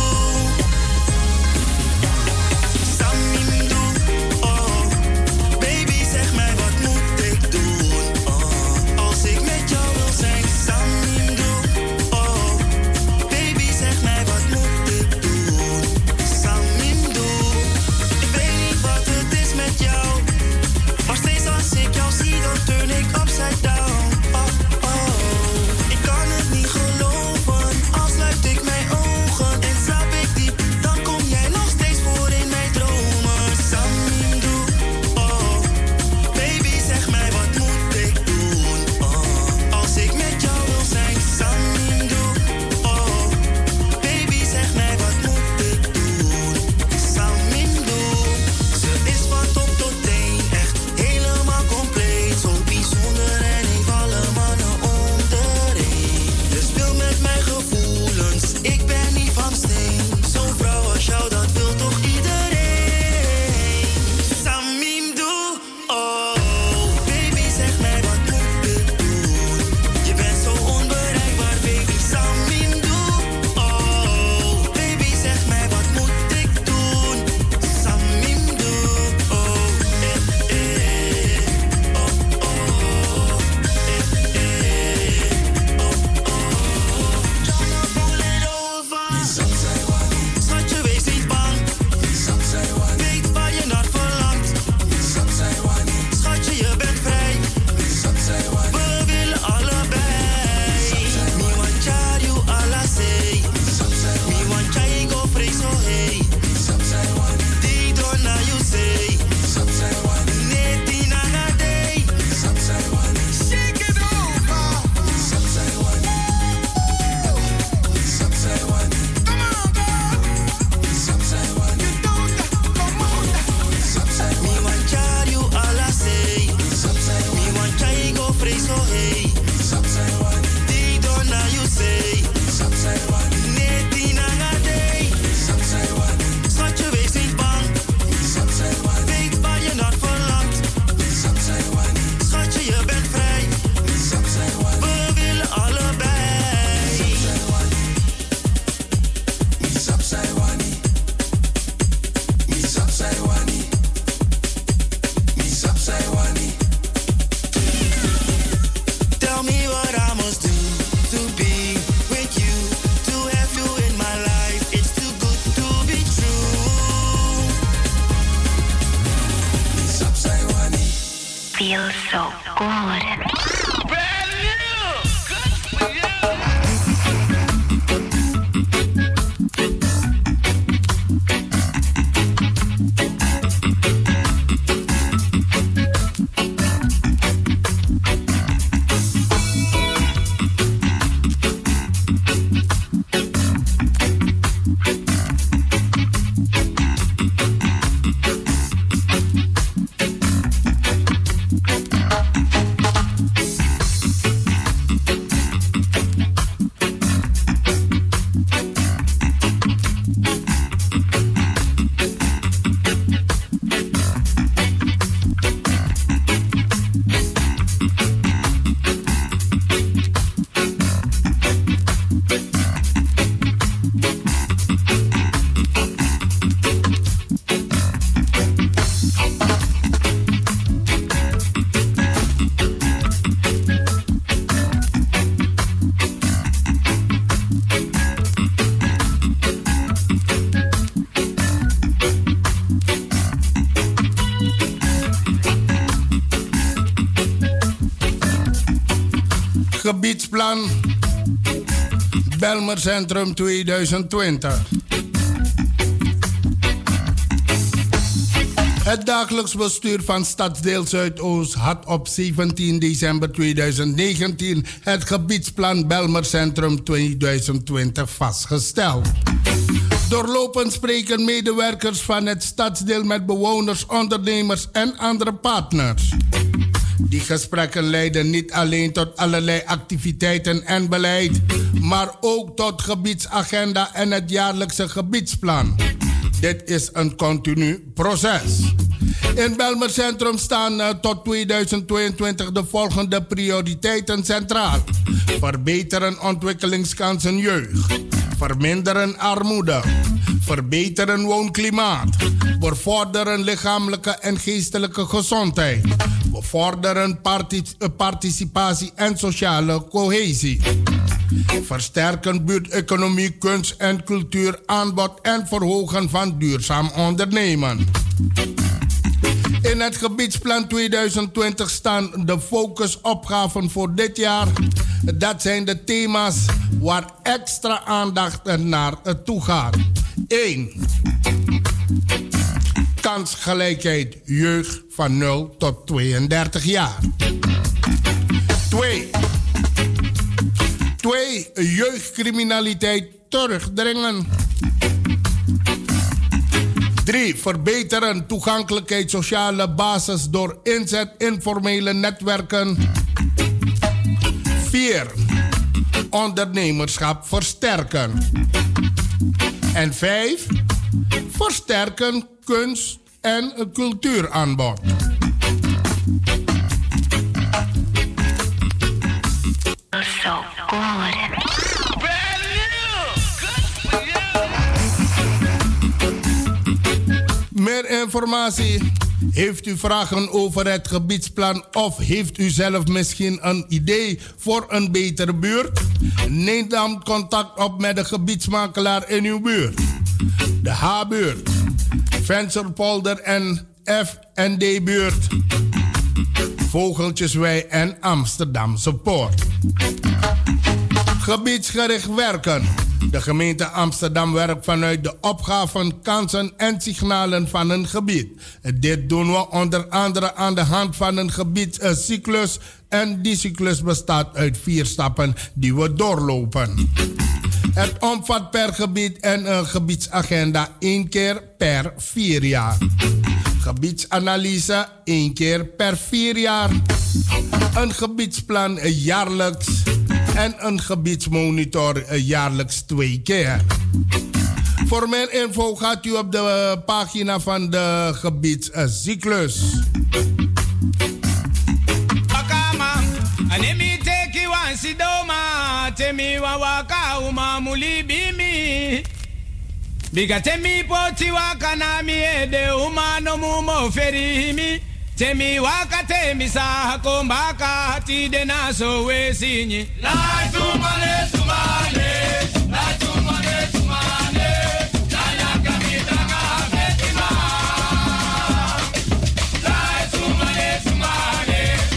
Samindo, oh, baby zeg mij wat moet ik doen, oh, als ik met jou wil zijn. Samindo, oh, baby zeg mij wat moet ik doen. Samindo, ik weet niet wat het is met jou. Maar steeds als ik jou zie, dan turn ik upside down. Oh, oh. Ik kan het niet geloven, al sluit ik mijn ogen.
feels so good.
Gebiedsplan Belmer Centrum 2020. Het dagelijks bestuur van Stadsdeel Zuidoost had op 17 december 2019 het gebiedsplan Belmer Centrum 2020 vastgesteld. Doorlopend spreken medewerkers van het stadsdeel met bewoners, ondernemers en andere partners. Die gesprekken leiden niet alleen tot allerlei activiteiten en beleid, maar ook tot gebiedsagenda en het jaarlijkse gebiedsplan. Dit is een continu proces. In Belmer Centrum staan tot 2022 de volgende prioriteiten centraal. Verbeteren ontwikkelingskansen jeugd. Verminderen armoede. Verbeteren woonklimaat. Bevorderen lichamelijke en geestelijke gezondheid. Bevorderen participatie en sociale cohesie. Versterken buurteconomie, kunst en cultuur aanbod en verhogen van duurzaam ondernemen. In het gebiedsplan 2020 staan de focusopgaven voor dit jaar. Dat zijn de thema's waar extra aandacht naar toe gaat. 1. Kansgelijkheid jeugd van 0 tot 32 jaar. 2. Jeugdcriminaliteit terugdringen. 3. Verbeteren toegankelijkheid sociale basis door inzet informele netwerken. 4. Ondernemerschap versterken. En 5. Versterken kunst- en cultuuraanbod.
So good.
Meer informatie? Heeft u vragen over het gebiedsplan of heeft u zelf misschien een idee voor een betere buurt? Neem dan contact op met de gebiedsmakelaar in uw buurt. De H-buurt, Vensterpolder en F&D-buurt, Vogeltjeswei en Amsterdamse Poort. Gebiedsgericht werken. De gemeente Amsterdam werkt vanuit de opgaven, kansen en signalen van een gebied. Dit doen we onder andere aan de hand van een gebiedscyclus. En die cyclus bestaat uit 4 stappen die we doorlopen. Het omvat per gebied en een gebiedsagenda 1 keer per 4 jaar. Gebiedsanalyse 1 keer per 4 jaar. Een gebiedsplan jaarlijks. En een gebiedsmonitor jaarlijks 2 keer. Voor meer info gaat u op de pagina van de gebiedscyclus.
Anemi teki wansidoma temi wawaka umamuli bimi biga temi poti wakanami ede umano mumo ferimi temi waka temi sahako mbaka tide naso wesinyi la tumale tumale la tumale tumale la yakamita kabetima la tumale tumale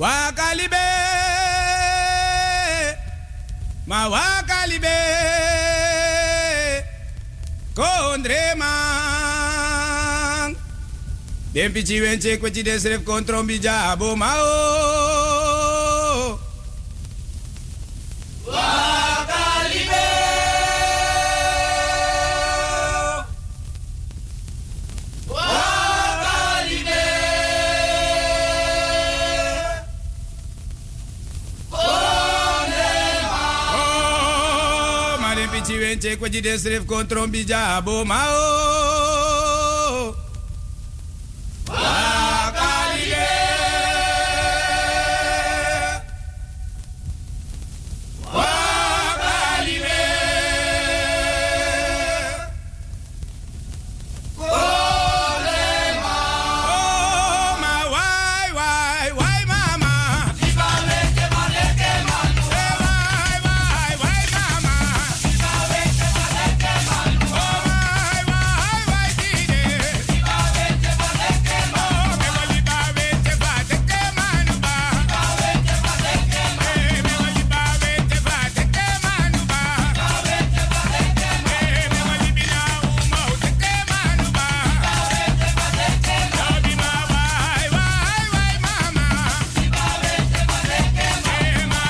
Wakalibe, ma wakalibe, kondre man. Den pichi wenche kwechi desref kontrombi jabo mao. Wakalibe, wakalibe. Pichi wenche kwechi desref kontrombi jabo mao. Wakalibe, wakalibe, kolema. Oh ma wai mama. Iba weke maleke manu. Wai mama. Iba weke maleke manu. Oh wai dide. Iba weke maleke manu. Oh me wali ba weke maleke manu ba. Iba weke maleke manu. Me wali ba weke maleke manu ba. Iba weke maleke manu. Me wali bina uma uteke manu ba. Iba weke maleke manu. Obi ma wai mama. Iba weke maleke manu. Ma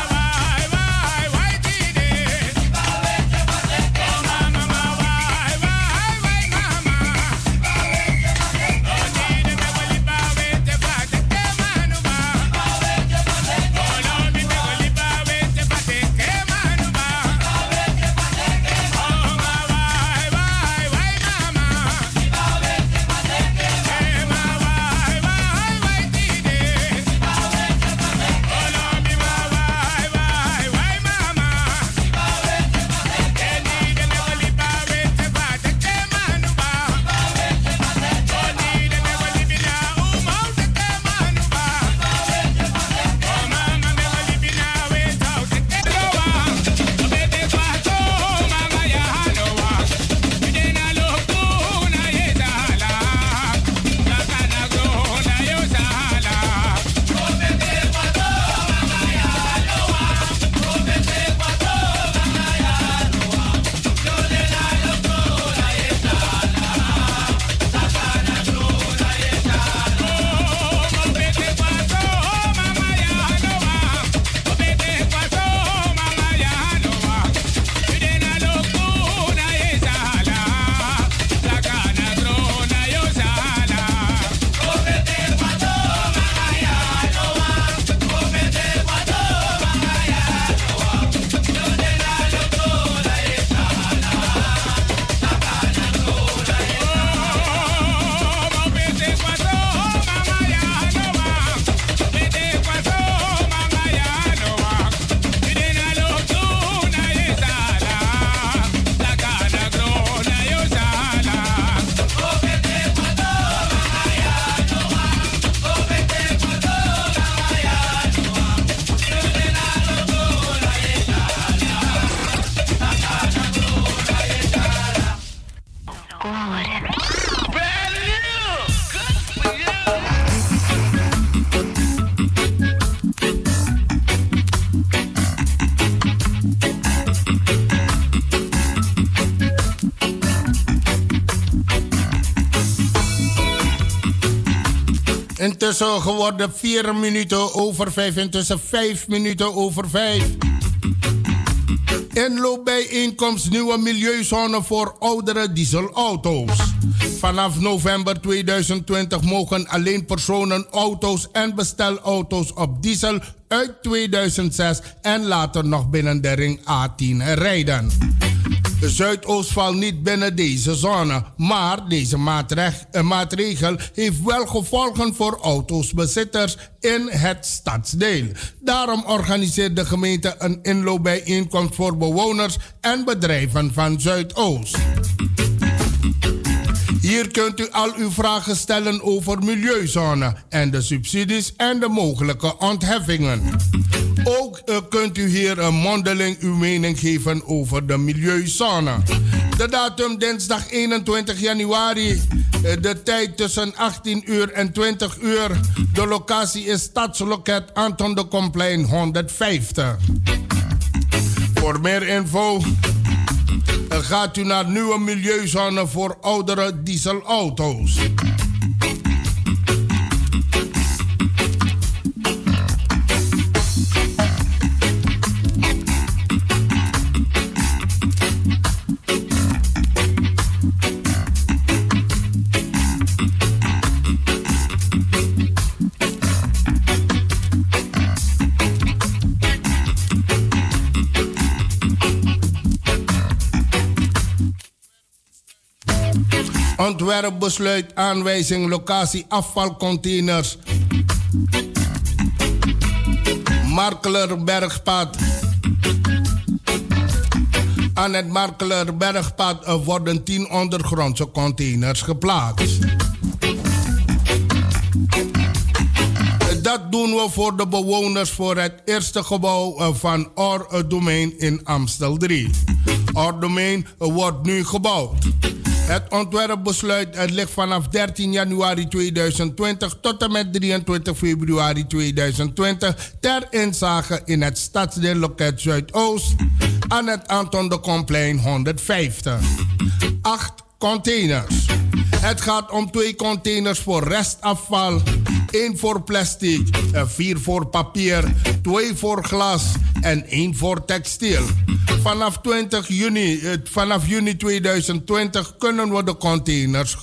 wai dide. Iba weke maleke manu. Oh mama wai mama. Iba weke maleke manu. Oh dide me wali ba weke maleke manu ba. Iba weke maleke manu. Oh no me wali ba weke maleke manu ba. Iba weke maleke manu. Oh ma wai mama. Iba weke maleke manu. Ma wai dide. Iba weke maleke manu. Oh no me ma wai mama. Iba weke maleke manu. Dide me wali ba weke maleke manu ba. Iba weke maleke manu. Oh dide me wali bina uma uteke manu ba. Iba weke maleke manu. Oh mama me wali bina weta uteke loa. Obede kwato mama ya haloa. Bidena loku na yezala. Lakana go na yozala. Obede kwato mama ya haloa. Obede kwato mama ya haloa. Yodena loku na yezala. Lakana go na yezala. Obede kwato mama ya haloa. Obede kwato mama ya haloa. Bidena loku na yezala. Lakana go na yozala. Obede kwato mama ya haloa. Obede kwato mama ya haloa. Yodena loku na yezala. Lakana go na yezala. Obede kwato mama ya haloa. Obede kwato mama ya haloa. Bidena loku na yezala. Lakana go na yozala. Obede kwato mama ya haloa. Obede kwato mama ya haloa. Yodena loku na yezala. Lakana go na yezala.
Intussen geworden 4 minuten over 5. Intussen 5 minuten over 5. Inloopbijeenkomst nieuwe milieuzone voor oudere dieselauto's. Vanaf november 2020 mogen alleen personen, auto's en bestelauto's op diesel uit 2006 en later nog binnen de ring A10 rijden. De Zuidoost valt niet binnen deze zone, maar deze maatregel heeft wel gevolgen voor autosbezitters in het stadsdeel. Daarom organiseert de gemeente een inloopbijeenkomst voor bewoners en bedrijven van Zuidoost. Hier kunt u al uw vragen stellen over milieuzone en de subsidies en de mogelijke ontheffingen. Ook kunt u hier mondeling uw mening geven over de milieuzone. De datum dinsdag 21 januari De tijd tussen 18 uur en 20 uur. De locatie is Stadsloket Anton de Komplein 150. Voor meer info gaat u naar nieuwe milieuzone voor oudere dieselauto's. Ontwerpbesluit aanwijzing locatie afvalcontainers. Markelerbergpad. Aan het Markelerbergpad worden 10 ondergrondse containers geplaatst. Dat doen we voor de bewoners voor het eerste gebouw van Or Domein in Amstel 3. Or Domein wordt nu gebouwd. Het ontwerpbesluit ligt vanaf 13 januari 2020 tot en met 23 februari 2020 ter inzage in het stadsdeel Loket Zuidoost aan het Anton de Komplein 150. 8 containers. Het gaat om 2 containers voor restafval, 1 voor plastic, 4 voor papier, 2 voor glas en 1 voor textiel. Vanaf juni 2020 kunnen we de containers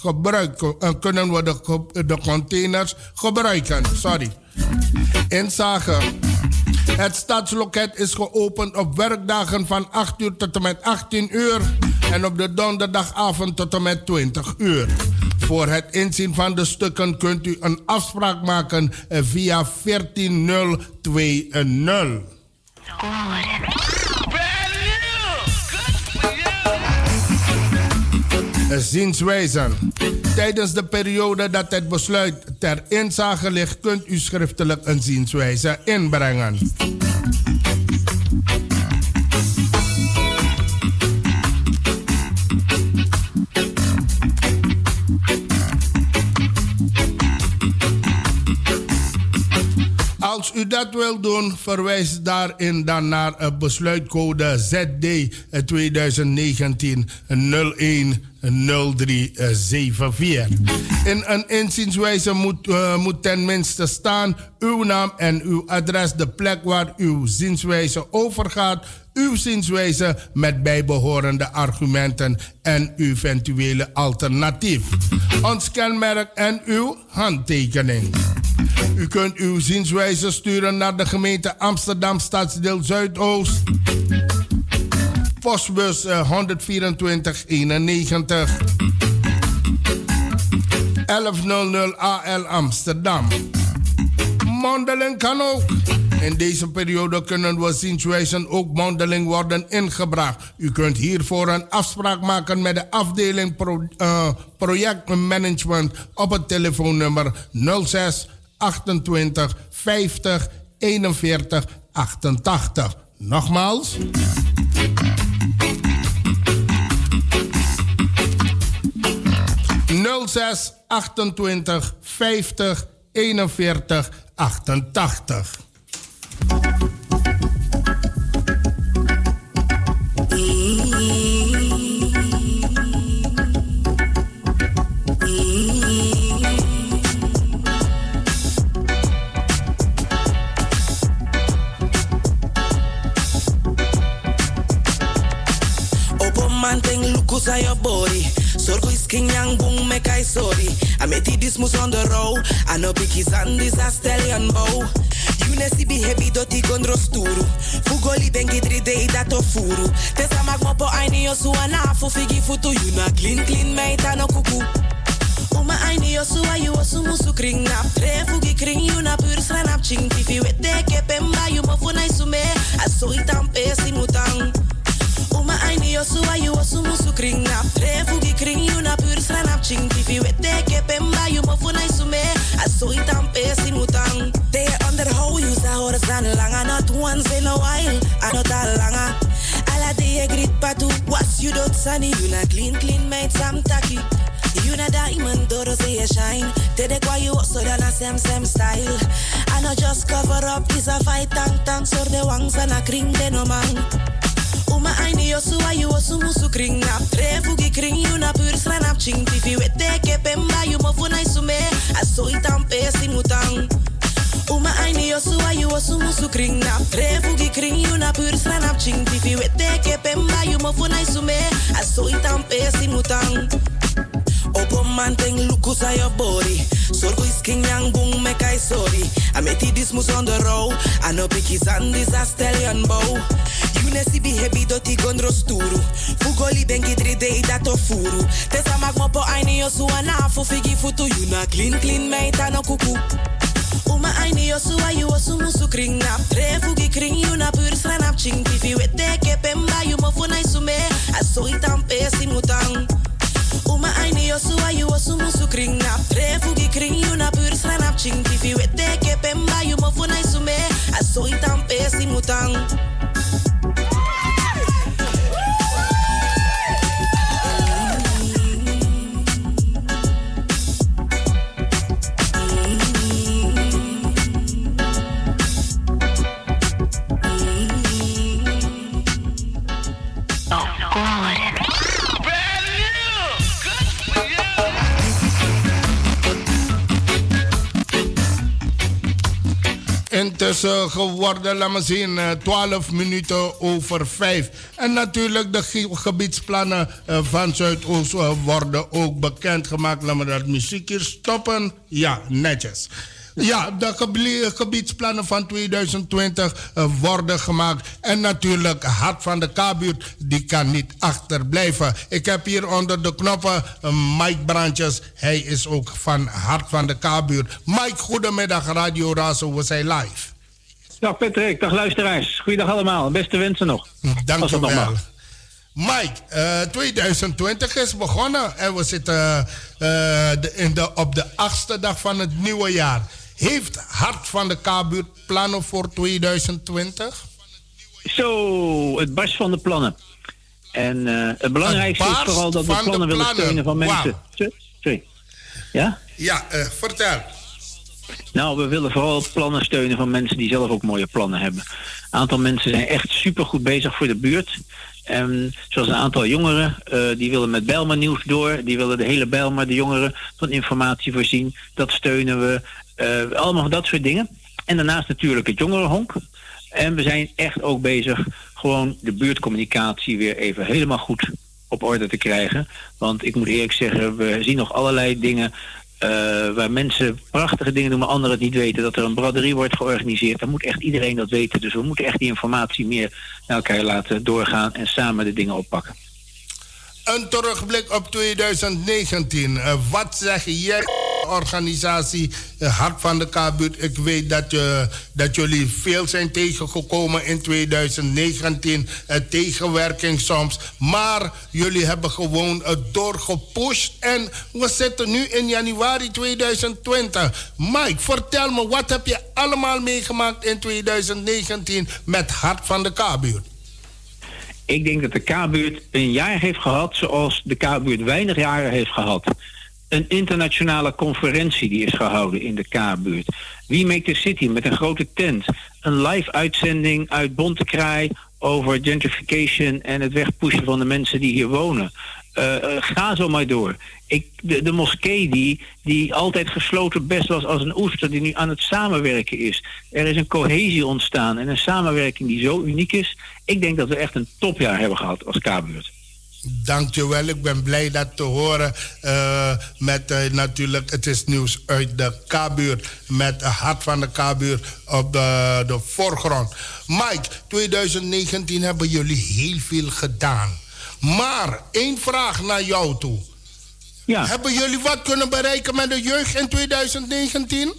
gebruiken. Inzage. Het stadsloket is geopend op werkdagen van 8 uur tot en met 18 uur en op de donderdagavond tot en met 20 uur. Voor het inzien van de stukken kunt u een afspraak maken via 14020. Zienswijzen. Tijdens de periode dat het besluit ter inzage ligt, kunt u schriftelijk een zienswijze inbrengen. Als u dat wilt doen, verwijs daarin dan naar besluitcode ZD 2019-01-0374. In een inzienswijze moet ten minste staan uw naam en uw adres, de plek waar uw zienswijze overgaat, uw zienswijze met bijbehorende argumenten en uw eventuele alternatief, ons kenmerk en uw handtekening. U kunt uw zienswijze sturen naar de gemeente Amsterdam Stadsdeel Zuidoost. Postbus 12491 1100 AL Amsterdam. Mondeling kan ook. In deze periode kunnen we zienswijzen ook mondeling worden ingebracht. U kunt hiervoor een afspraak maken met de afdeling projectmanagement op het telefoonnummer 06 28 50 41 88. Nogmaals. 06 28 50 41 88.
Manting lukus aan je body. Zorgo is king yang boom me kai sorry. I met this mus on the road. I know biggies and this a stallion bow. You ne si be heavy doti gondro sturu. Fugoli bengi 3 day dat of furu. Tesa magmopo aini yo su anafu figi futu. You na clean meita no kuku. Uma aini yo su ayu osu musu kring nap. Tre fugi kring you na pur sranap ching. Tifi wete ke pemba you mo funai sume. Aso itam pesi mutang. Uma aini yo su ayu osu musu kring nap. Tre fugi kring you na pur sranap ching. Tifi wete ke pemba you mo funai sume. Aso itam pesi mutang. They underhold you sa horas dan langa. Not once in a while. Anot al langa. Ala de grit patu. Was you dot sunny. You na clean mate sam taki. You na diamond do. toro say you shine. Tede kwa you so dan a same style. I not just cover up, is a fight tank, so de wangs and a kring de no man. Uma aini yo suwa you osu musu kring nap. Trefu gi kring you na pur sranap ching. Tifi wete ke pemba you mo funai sume. Aso itam pesi mutang. Uma aini yo suwa you osu musu kring nap. Trefu gi kring you na pur sranap ching. Tifi wete ke pemba you mo funai sume. Aso itam pesi mutang. Opo manteng lukus a your body. Sorgo is king yang bung me kai sorry. I met this mus on the road. I know pikis and this a stallion bow. You nesi be heavy doti gondro sturu. Fugoli bengi 3D dato furu. Tesa magmopo aini yo suana fu figi futu. You na clean meita no kuku. Uma aini yo suwa you osu musu kring nap. Trefu gi kring you na pur sranap ching. Tifi wete ke pemba you mo funai sume. Aso itam pesi mutang. Uma aini yo suwa you osu musu kring nap. Trefu gi kring you na pur sranap ching. Tifi wete ke pemba you mo funai sume. Aso itam pesi mutang.
Intussen geworden, laat me zien, 12 minuten over 5. En natuurlijk de gebiedsplannen van Zuidoost worden ook bekendgemaakt. Laat me dat muziek hier stoppen. Ja, netjes. Ja, de gebiedsplannen van 2020 worden gemaakt. En natuurlijk Hart van de K-buurt, die kan niet achterblijven. Ik heb hier onder de knoppen Mike Brandjes. Hij is ook van Hart van de K-buurt. Mike, goedemiddag, Radio Razo, we zijn live.
Dag Patrick, dag luisteraars. Goeiedag allemaal, beste wensen nog.
Dank je wel. Mike, 2020 is begonnen en we zitten op de 8e dag van het nieuwe jaar. Heeft Hart van de K-buurt plannen voor 2020?
Zo, het barst van de plannen. En het belangrijkste is vooral dat we plannen willen steunen van mensen. Wow. Sorry. Ja?
Ja, vertel.
Nou, we willen vooral plannen steunen van mensen die zelf ook mooie plannen hebben. Een aantal mensen zijn echt supergoed bezig voor de buurt. Zoals een aantal jongeren, die willen met Bijlmer nieuws door. Die willen de hele Bijlmer, de jongeren, van informatie voorzien. Dat steunen we. Allemaal dat soort dingen. En daarnaast natuurlijk het jongerenhonk. En we zijn echt ook bezig gewoon de buurtcommunicatie weer even helemaal goed op orde te krijgen. Want ik moet eerlijk zeggen, we zien nog allerlei dingen waar mensen prachtige dingen doen, maar anderen het niet weten. Dat er een braderie wordt georganiseerd. Dan moet echt iedereen dat weten. Dus we moeten echt die informatie meer naar elkaar laten doorgaan en samen de dingen oppakken.
Een terugblik op 2019. Wat zeg jij, organisatie Hart van de K-buurt? Ik weet dat jullie veel zijn tegengekomen in 2019. Tegenwerking soms. Maar jullie hebben gewoon doorgepusht. En we zitten nu in januari 2020. Mike, vertel me, wat heb je allemaal meegemaakt in 2019 met Hart van de K-buurt?
Ik denk dat de K-buurt een jaar heeft gehad zoals de K-buurt weinig jaren heeft gehad. Een internationale conferentie die is gehouden in de K-buurt. We Make the City met een grote tent. Een live uitzending uit Bontekraai over gentrification en het wegpushen van de mensen die hier wonen. Ga zo maar door. De moskee die altijd gesloten best was als een oester, die nu aan het samenwerken is. Er is een cohesie ontstaan en een samenwerking die zo uniek is. Ik denk dat we echt een topjaar hebben gehad als K-buurt.
Dankjewel, ik ben blij dat te horen. Met natuurlijk, het is nieuws uit de K-buurt. Met het Hart van de K-buurt op de voorgrond. Mike, 2019 hebben jullie heel veel gedaan. Maar één vraag naar jou toe.
Ja.
Hebben jullie wat kunnen bereiken met de jeugd in 2019?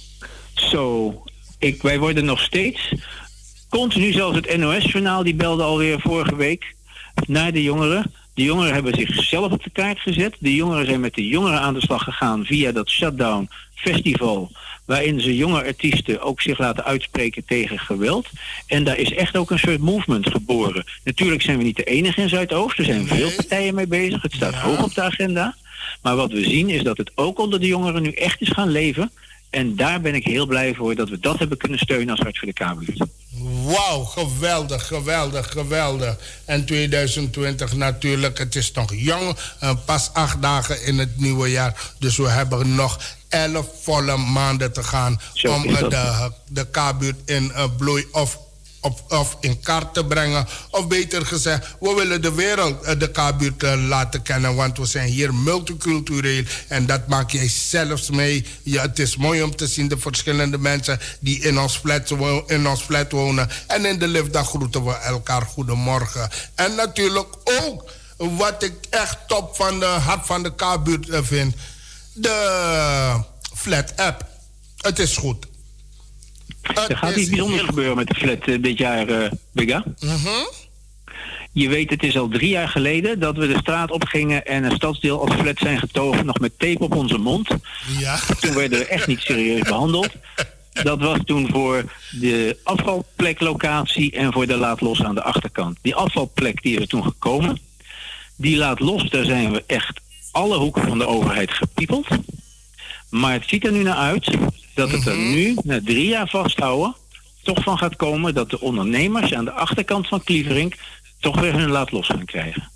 Wij worden nog steeds continu, zelfs het NOS-journaal, die belde alweer vorige week naar de jongeren. De jongeren hebben zichzelf op de kaart gezet. De jongeren zijn met de jongeren aan de slag gegaan via dat Shutdown Festival, waarin ze jonge artiesten ook zich laten uitspreken tegen geweld. En daar is echt ook een soort movement geboren. Natuurlijk zijn we niet de enige in Zuidoost. Er zijn veel partijen mee bezig. Het staat hoog op de agenda. Maar wat we zien is dat het ook onder de jongeren nu echt is gaan leven. En daar ben ik heel blij voor dat we dat hebben kunnen steunen als Hart voor de K-buurt.
Wauw, geweldig, geweldig, geweldig. En 2020 natuurlijk, het is nog jong, pas 8 dagen in het nieuwe jaar. Dus we hebben nog 11 volle maanden te gaan om de K-buurt in bloei of in kaart te brengen. Of beter gezegd, we willen de wereld de K-buurt laten kennen. Want we zijn hier multicultureel. En dat maak jij zelfs mee. Ja, het is mooi om te zien de verschillende mensen die in ons flat wonen. En in de lift, dan groeten we elkaar goedemorgen. En natuurlijk ook, wat ik echt top van de hart van de K-buurt vind. De flat app. Het is goed.
Er gaat iets bijzonders gebeuren met de flat dit jaar, Bigga. Je weet, het is al 3 jaar geleden dat we de straat opgingen en een stadsdeel als flat zijn getogen, nog met tape op onze mond.
Ja.
Toen werden we echt niet serieus behandeld. Dat was toen voor de afvalpleklocatie en voor de laat los aan de achterkant. Die afvalplek die is er toen gekomen. Die laat los, daar zijn we echt alle hoeken van de overheid gepiepeld. Maar het ziet er nu naar uit dat het er nu, na 3 jaar vasthouden, toch van gaat komen dat de ondernemers aan de achterkant van Klieverink toch weer hun laat los gaan krijgen.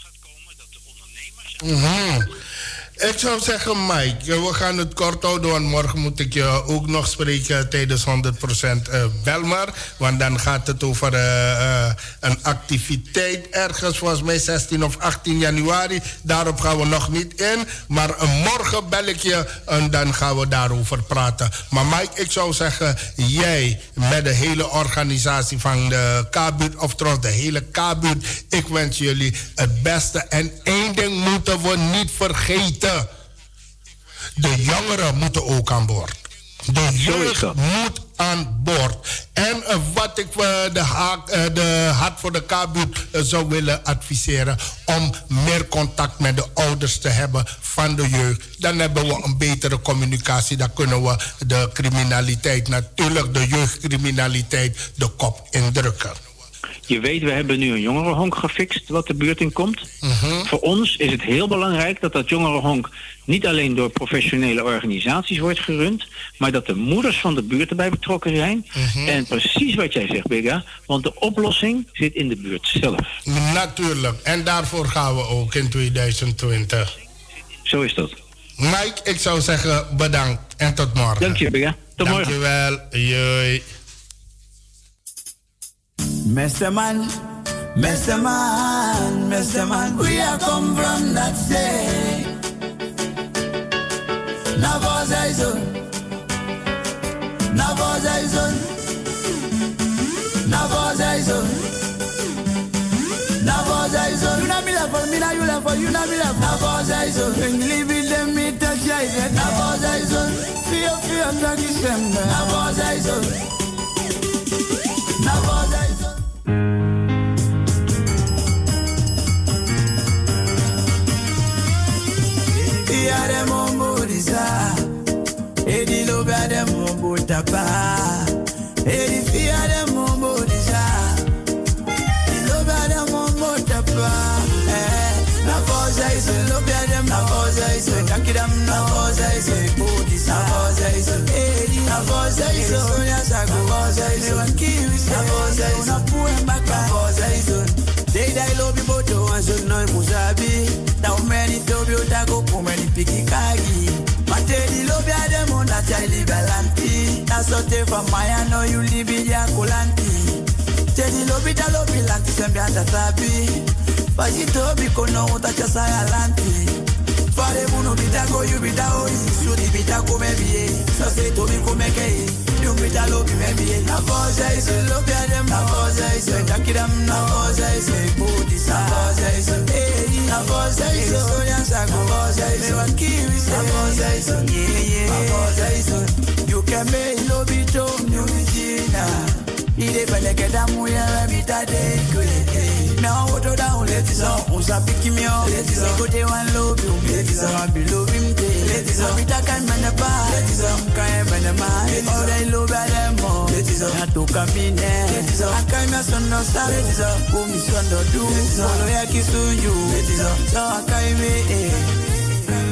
Ik zou zeggen, Mike, we gaan het kort houden, want morgen moet ik je ook nog spreken tijdens 100% Belmar. Want dan gaat het over een activiteit ergens, volgens mij 16 of 18 januari. Daarop gaan we nog niet in. Maar morgen bel ik je en dan gaan we daarover praten. Maar Mike, ik zou zeggen, jij met de hele organisatie van de K-buurt, of trouwens de hele K-buurt, ik wens jullie het beste. En één ding moeten we niet vergeten. De jongeren moeten ook aan boord. De jeugd moet aan boord. En wat ik de Hart voor de K-buurt zou willen adviseren, om meer contact met de ouders te hebben van de jeugd. Dan hebben we een betere communicatie. Dan kunnen we de criminaliteit, natuurlijk de jeugdcriminaliteit, de kop indrukken.
Je weet, we hebben nu een jongerenhonk gefixt wat de buurt in komt. Voor ons is het heel belangrijk dat dat jongerenhonk niet alleen door professionele organisaties wordt gerund, maar dat de moeders van de buurt erbij betrokken zijn. En precies wat jij zegt, Bigga, want de oplossing zit in de buurt zelf.
Natuurlijk, en daarvoor gaan we ook in 2020.
Zo is dat.
Mike, ik zou zeggen bedankt en tot morgen.
Dank je, Bigga. Tot morgen.
Dankjewel. Joi.
Mr. Man, Mr. Man, Mr. Man, we are come from that state. Navazaizon, Navazaizon, Navazaizon, Navazaizon. You know me love for me, now you love for you, know me love. Navazaizon, when you live with them, me touch you. Navazaizon, fear, drag December. Navazaizon, Navazaizon. Yare mombo disa, edi lobe ade mombo tapa, edi fi ade mombo disa, edi lobe ade mombo tapa. Na voza iso lobe ade na voza iso, takidam na voza iso, bodisa na voza iso, edi na voza iso, sonya sago voza iso, wakiwi na voza iso, na puemba na voza iso. They die lobby boto and so no musabi. Now many tobi otago kumeni piki kagi. Materi lobby adem on that chili galanti. That's what they from Maya no you live in ya kolanti. Tedi lobby da lobby lanti sembi anda tabi. Baji tobi kono utacha saya lanti. Fare buno bitago you bitago sudi bitago maybe. So say tobi kumeke. You bita lobby maybe. Na voza is lobby adem na voza is takidam na voza is body sa voza is na voza is sonya sa voza is wakiwi sa voza is na voza is you can make lobby to new China. Ide pele que da muy a mitad de que now what down let is on usa pick me up let is go de one love you let is on below him let is on bita kan man ba let is on kan man ma all they love them more let is on to camine let is on kan me son no sa let is on go mi son do follow ya kisu you let is on so kan me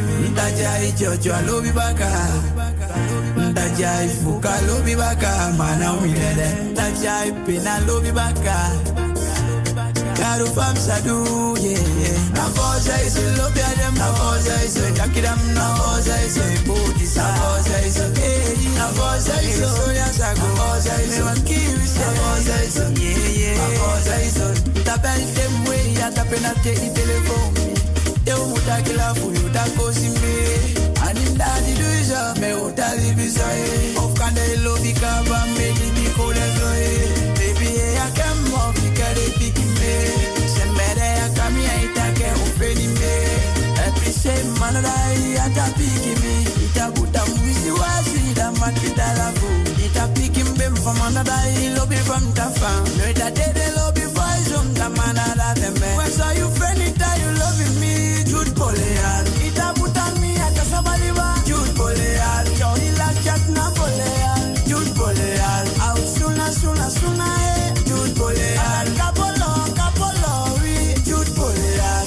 Dajai Jojo lobi baka. Dajai Fuka lobi baka. Mana umilele. Dajai Pina lobi baka. Karu fam sadu, yeah. Na voza is a lobby them. Na voza is a jakidam. Na voza is a booty. Na voza is a hey. Na voza is a soya sago. Na voza is a kiwi. Na voza is a yeah. Na voza is a tapel them way. Ya tapena te I telephone. Te umuta kila fu yuta kosi me. Anim daddy do is a me uta libisai. Of kande lobby kaba me libi kole zoe. Baby I come up ikare piki me. Sembere ya kami ya itake ufeni me. Epise manadai ata piki me. Ita buta mwisi wasi da matita lafu. Ita piki mbem from manadai lobby from tafa. No ita dede lobby boys da manada teme. When saw you friend ita you loving me. Jude Poleal. Ita buta mi ata sabaliba. Jude Poleal. Yo ila chat na Poleal. Jude Poleal. Out suna eh. Jude Poleal. Kapolo, oui. Jude Poleal.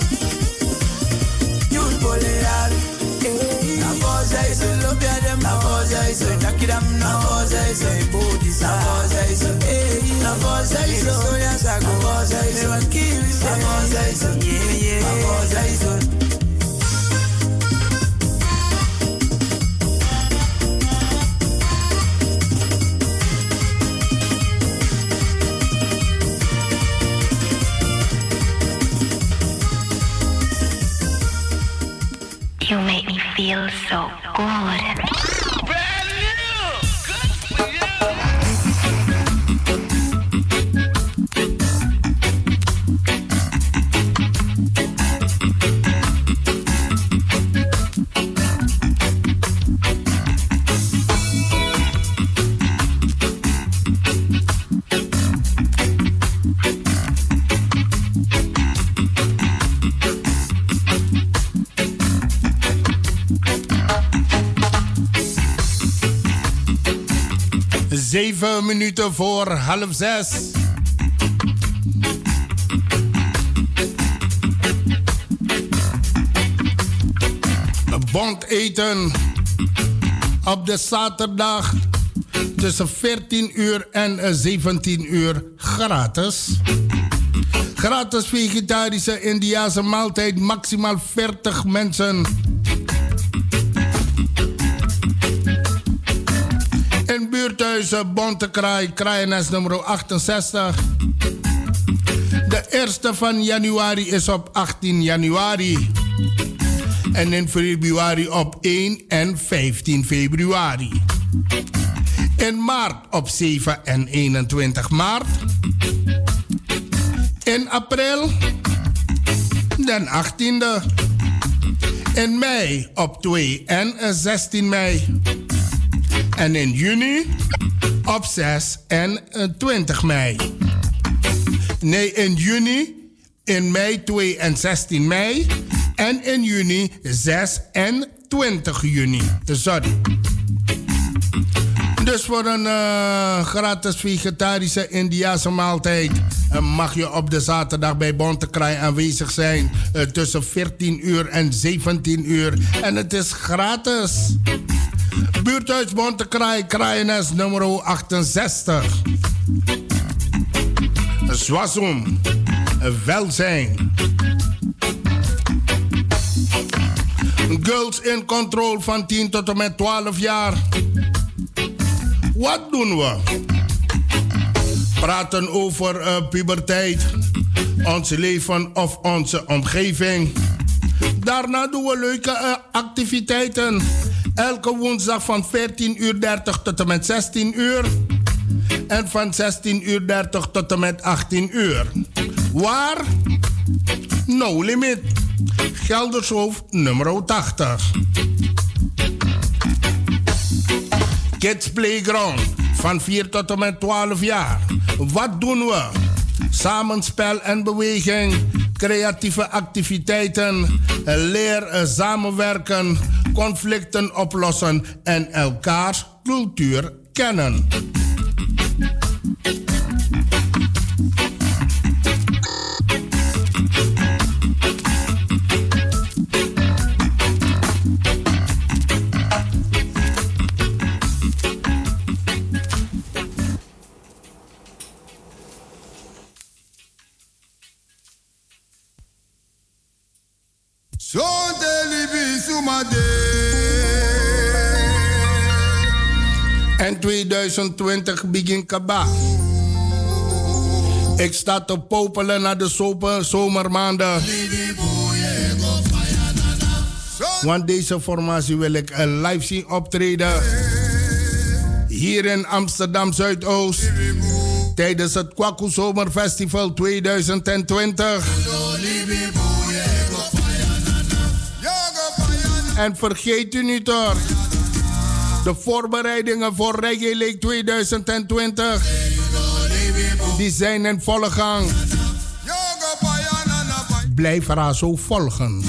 Jude Poleal. Na voza is a lobby them. Na voza is a jakidam. Na voza is a booty. Na voza is a hey. Na voza is a soya sago. Na voza is a kiwi. Na voza is a yeah. Na voza is a
You make me feel so good.
Zeven minuten voor 5:30. Bond eten op de zaterdag tussen 14 uur en 17 uur gratis. Gratis vegetarische Indiase maaltijd, maximaal 40 mensen. In buurthuizen Bontekraai, Kraaienest nummer 68. De eerste van januari is op 18 januari. En in februari op 1 en 15 februari. In maart op 7 en 21 maart. In april den 18e. In mei op 2 en 16 mei. En in juni op 6 en 20 mei. Nee, in juni, in mei 2 en 16 mei. En in juni 6 en 20 juni. Sorry. Dus voor een gratis vegetarische Indiase maaltijd mag je op de zaterdag bij Bontekraai aanwezig zijn. Tussen 14 uur en 17 uur. En het is gratis. Buurthuis Bontekraai, Kraaienest nummer 68. Zwazum. Welzijn. Girls in Control van 10 tot en met 12 jaar. Wat doen we? Praten over puberteit, ons leven of onze omgeving. Daarna doen we leuke activiteiten. Elke woensdag van 14:30 tot en met 16 uur. En van 16:30 tot en met 18 uur. Waar? No Limit. Geldershoofd nummer 80. Kids Playground van 4 tot en met 12 jaar. Wat doen we? Samenspel en beweging, creatieve activiteiten, leer samenwerken, conflicten oplossen en elkaars cultuur kennen. En 2020 begin kaba. Ik sta te popelen naar de zomermaanden. Want deze formatie wil ik live zien optreden. Hier in Amsterdam Zuidoost. Tijdens het Kwaku Zomerfestival 2020. En vergeet u niet hoor. De voorbereidingen voor Reggae Lake 2020. Die zijn in volle gang. Blijf haar zo volgen.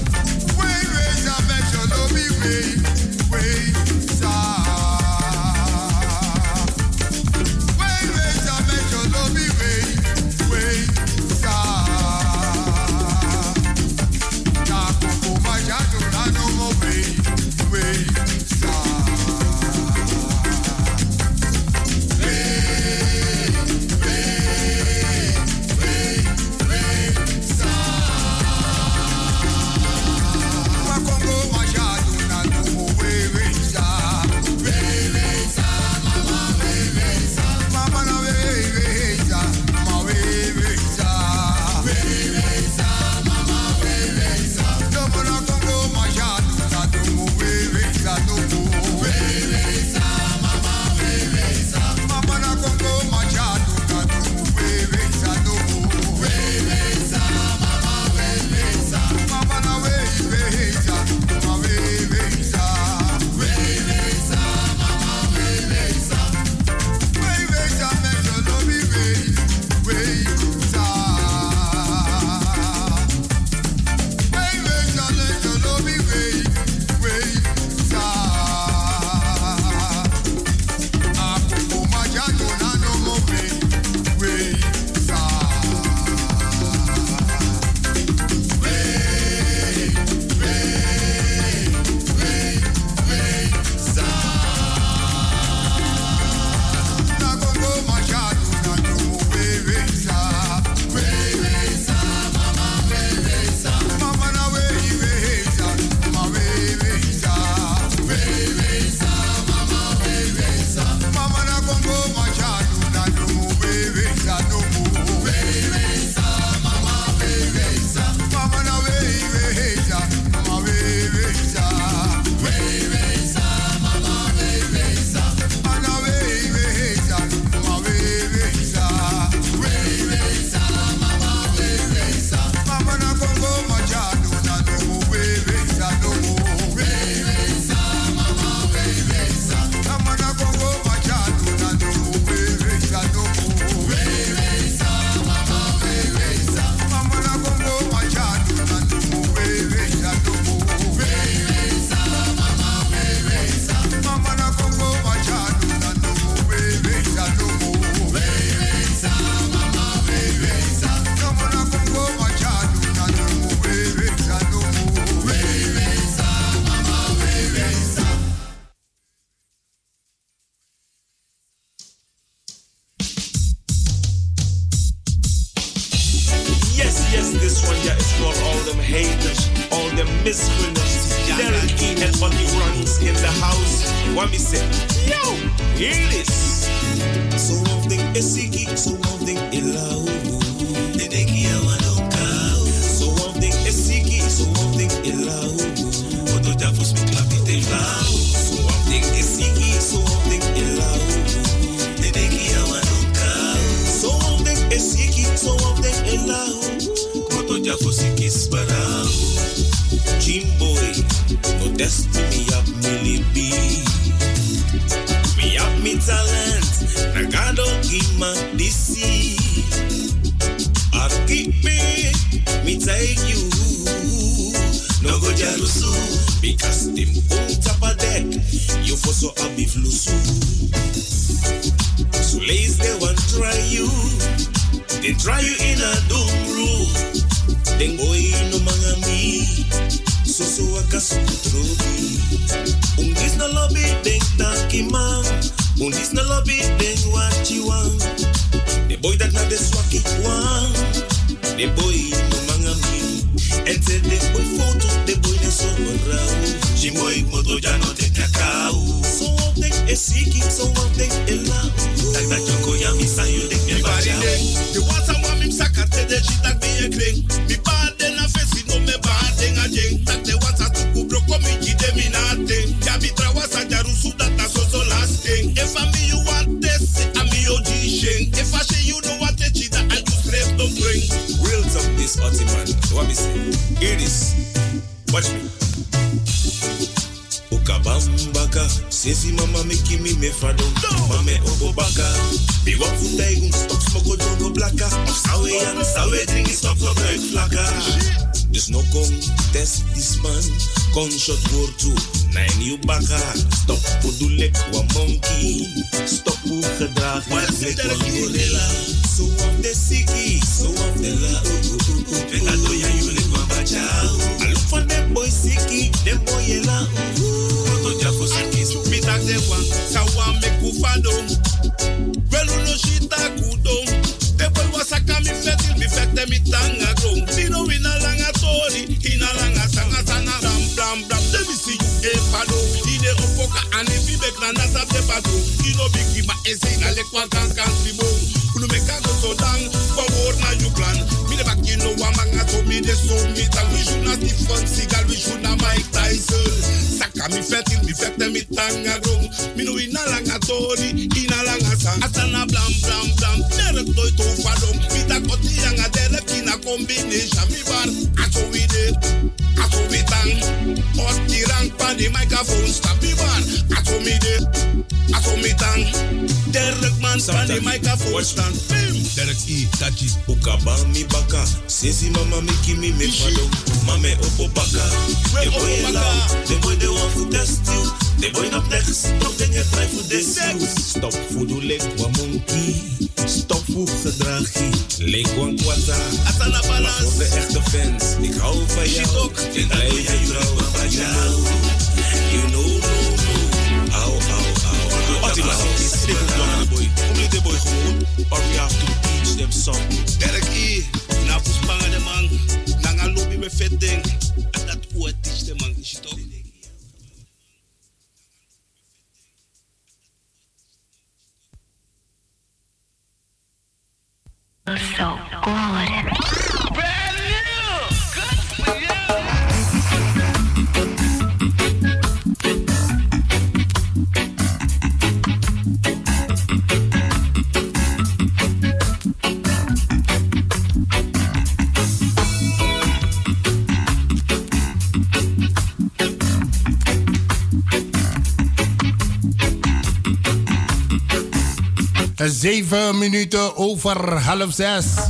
Wait, Yes, this one, yeah, is for all them haters, all them misgunners. Derek E and Bunny runs in the house. What me say? Yo, hear this.
So one thing is siki, so one thing is loud. The neki awadoka. So one thing is siki, so one thing is loud. What do you for me clap it loud? So one thing is siki, so one thing is loud. The neki awadoka. So one thing is siki, so one thing is loud. What do you for siki sparrow? Jim boy, no destiny up me be. Me up me talent. I don't give my DC. I keep me take you. No go jalusu, because them on top of deck. You for so happy flusu. So lazy they want try you. They try you in a dumb room. Then boy no mangami. So akasukutrobi. This no lobby denk takima. This no lobby then what you want. The boy that not the swaki one. The boy no mangami. And say the boy photo, the boy na so around. She boy moto jano de kakao. So one thing is siki, so one thing is loud. Tak tak joko ya mi sa you denk me baja.
The water want me sakate de she tak me a kring. Me bad den a face no me bad den a jeng. Tak the water to kubro komi jide mi na ten. Ya bi trawasa jarusu that na so last thing. If I me you want this, I me OG sheng. If I say you know what it is, I do straight don't bring.
Real talk this party man. What me say? Hear this. Watch me.
Okabambaka, sesi mama make me fado. Mame obobaka, be what food I stop smoke jongo blaka. Sawe and sawe drink stop no break flaka. There's no contest this man. Gunshot war to 9 you baka. Stop podulek wa monkey. Stop u gedrag wa lek wa gorilla. So of the siki, so of the la. Pegado ya you lek wa bacha. I look for them boy siki, them boy yela. Koto jafo siki.
Me tak de one, sawa me kufado. Well no shita kudo. The boy was a kami fetil, me fete mi tanga grow. Sino ina langa tori, ina langa sanga sana ram blam blam. Let me see you e pado. Ide opoka ane fi bek na nasa te pado. Ino biki ma ese ina lekwa kan tribo. Unu me kago so dang, power na you plan. Me de baki no wamanga to me de so me tang. We should not Stephen Seagal, we should not Mike Tyson. Saka mi fetil, mi fete mi tanga grow. Me no ina langa tori, ina langa sang. Asana blam blam blam. Nere toy to fadong. Mi ta koti yanga dere kina combination. Mi bar, ato we de, ato we tang. Oti rank pan the microphone stop mi bar. Ato mi de, ato mi tang. Derek man pan the microphone stand. Derek E, Tachi.
Ukaba mi baka, sesi mama make me fado. Mame opo baka, the boy loud, the boy they want to test you. The boy not next, don't then you try for this you. Stop fudu lek wa monkey, stop food gedragi, lek wan kwata.
Asana balance.
Voor de echte fans, ik hou van jou. Ik blijf je trouw van jou. You know, no. Au, au, au.
Optimus, they go down the boy. Only the boy gewoon, or we have to teach them something.
Derek E, na puspanga de man, nanga lobby we vet ding. En dat oor teach de man, is je toch?
So good.
Zeven minuten over 5:30.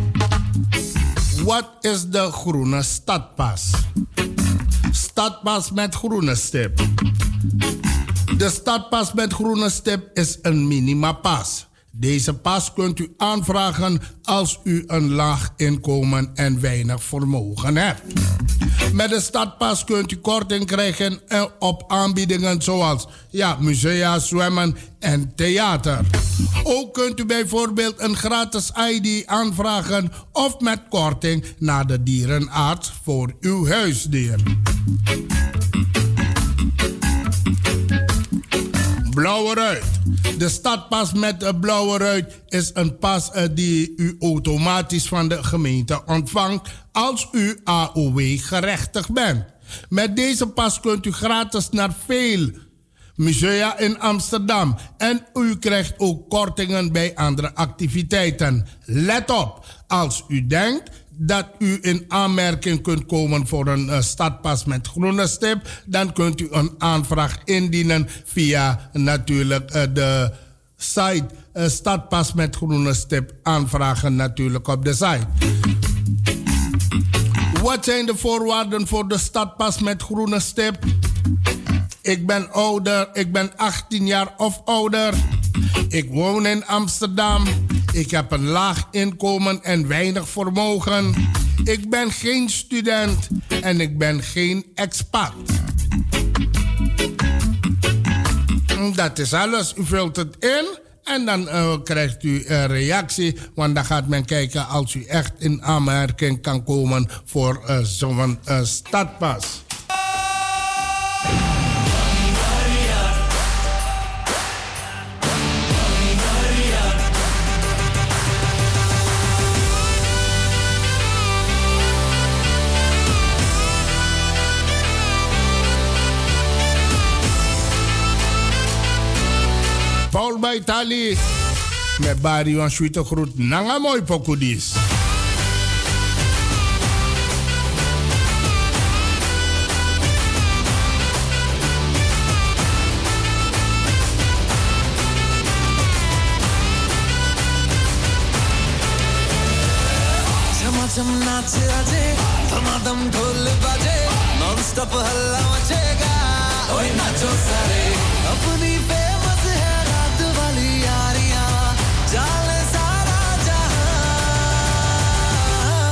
Wat is de groene stadpas? Stadpas met groene stip. De stadpas met groene stip is een minimapas Deze pas kunt u aanvragen als u een laag inkomen en weinig vermogen hebt. Met de stadpas kunt u korting krijgen op aanbiedingen zoals musea, zwemmen en theater. Ook kunt u bijvoorbeeld een gratis ID aanvragen of met korting naar de dierenarts voor uw huisdier. Blauwe ruit. De stadpas met de blauwe ruit is een pas die u automatisch van de gemeente ontvangt als u AOW gerechtigd bent. Met deze pas kunt u gratis naar veel musea in Amsterdam en u krijgt ook kortingen bij andere activiteiten. Let op, als u denkt dat u in aanmerking kunt komen voor een stadpas met groene stip, dan kunt u een aanvraag indienen via natuurlijk de site stadpas met groene stip aanvragen natuurlijk op de site. Wat zijn de voorwaarden voor de stadpas met groene stip? Ik ben ouder, ik ben 18 jaar of ouder. Ik woon in Amsterdam. Ik heb een laag inkomen en weinig vermogen. Ik ben geen student en ik ben geen expat. Dat is alles. U vult het in en dan krijgt u een reactie. Want dan gaat men kijken als u echt in aanmerking kan komen voor zo'n stadpas. Paul bij Italië. Met Barry van Sweete groet. Nanga mooi pokudis.
चम नाच आजे धमाधम ढोल बाजे non stop हल्ला मचेगा ओए नाचो सारे अपनी फेमस है रात वाली यारियां जाले सारा जहां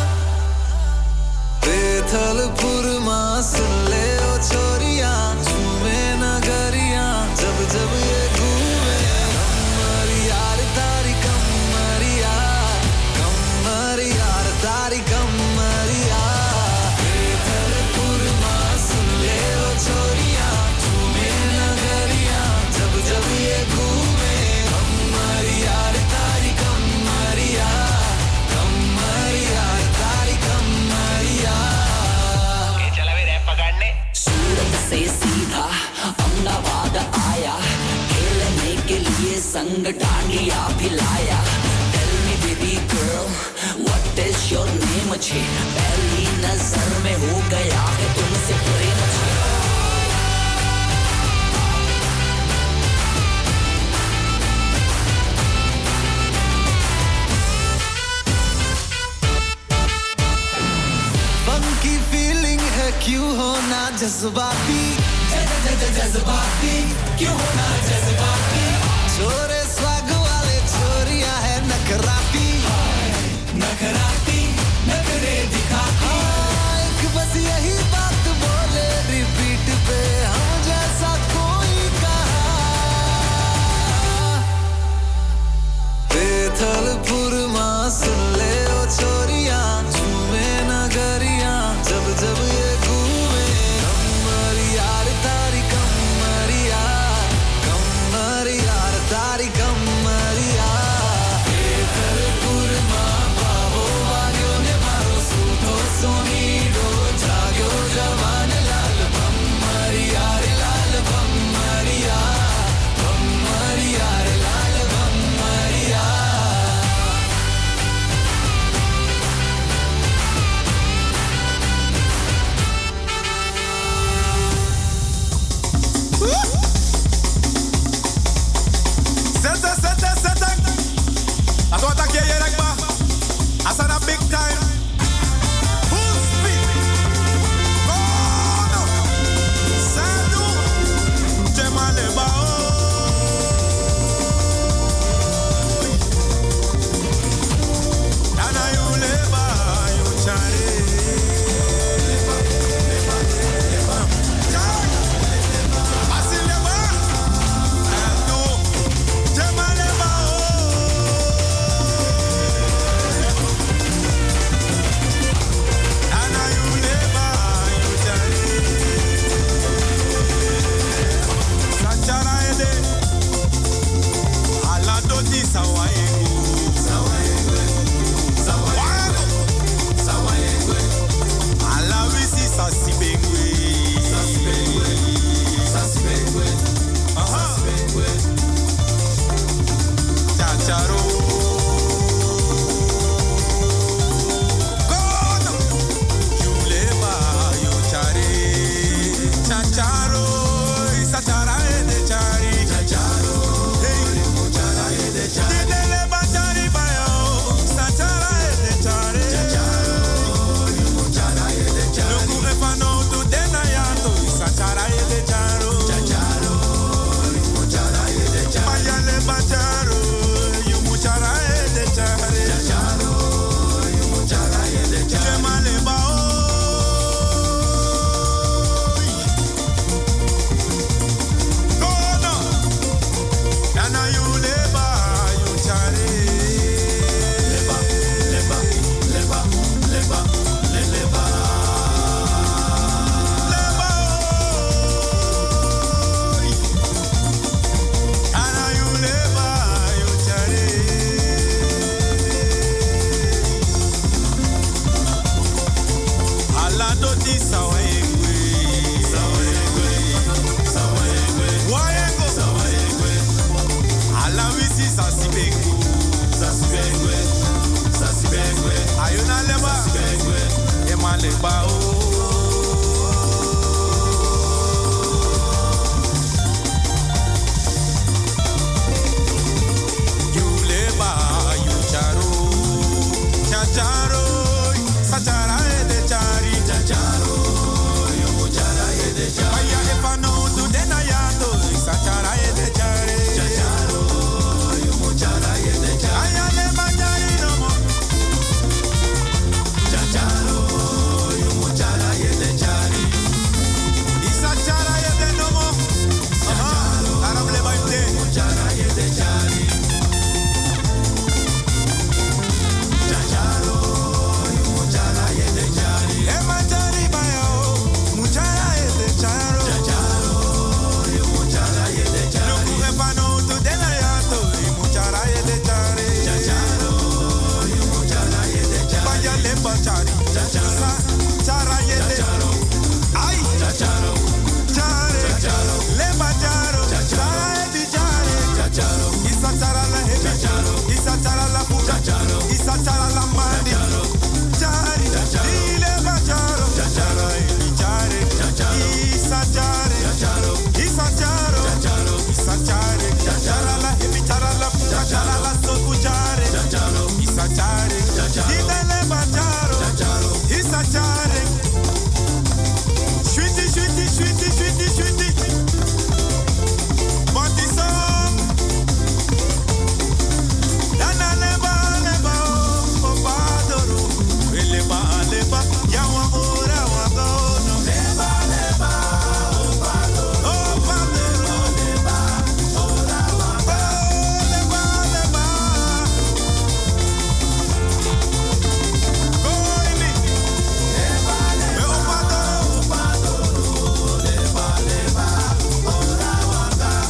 बेथलपुर मां सुन ले ओ छोरियां झूमे नगरियां जब जब ये घूमे कमर यार तारी कमरिया तारी कमरिया बेथलपुर मां सुन ले ओ छोरियां झूमे नगरियां जब जब ये घूमे कमरिया तारी कमरिया तारी कमरिया चला वे रैप पकड़ने सूरत से सीधा अहमदाबाद आया खेलने के लिए संग डांडिया भिलाया Tell me baby girl What is your name अच्छे पहली नजर में हो गया है तुमसे प्रेम अच्छे Funky feeling है क्यों होना जज्बाती जज्बाती क्यों होना जज्बाती छोरे स्वैग वाले छोरियां है नखराती नखराती नखरे दिखाती एक बस यही बात बोले रिपीट पे हम जैसा कोई कहा बेथलपुर मां सुन ले ओ छोरियां झूमे नगरियां जब जब ये घूमे कमरिया तारी कमरिया तारी कमरिया बेथलपुर मां बाबो बाग्यो ने मारो सूतो सोनीडो जाग्यो जवान लाल कमरिया रे लाल कमरिया रे लाल कमरिया Zet. That's what I get here, like, I said a big time. Full speed. Oh, no. Sandu. Chemaleba.
leba you leba you charo chacharo sachara de chari chacharo yo chara de chari aya e pano tu de na ya to sachara de chari chacharo yo chara de chari aya le chari no mo chacharo yo chara de chari isa chara de no mo arab le baite chara de chari chacharo yo chara de chari e manjari bayo muchara de charo chacharo yo chara de chari no ku e pano tu de na ya to muchara de chari chacharo yo chara de chari vaya le chari chacharo chara de charo ay chacharo chare chacharo le charo chara de chari chacharo isa chara la he chacharo isa chara la pu chacharo isa chara la mandi chari le charo chacharo e chari isa chari chacharo isa charo chacharo isa chari chara la he chara la pu chara la so pu chari chacharo isa chari chacharo le charo chacharo isa chari sweetie sweetie sweetie sweetie sweetie Monty song Dana leba leba o padoro leba leba ya wa ora wa gono leba leba o padoro leba ora wa leba leba goini leba leba o padoro leba leba ora wa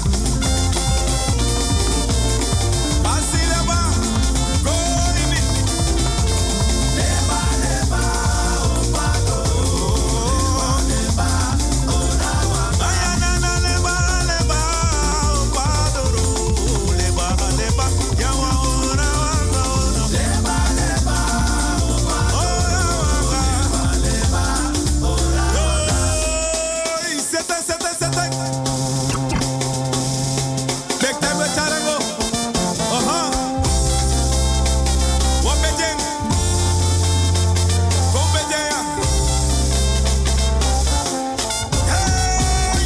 Asi leba goini leba leba o padoro leba ora wa ayana na leba leba o padoro leba leba ya wa ora wa gono leba leba o padoro leba ora wa sete sete sete Bek time charango Oha Wapeteng Kompeteya Hey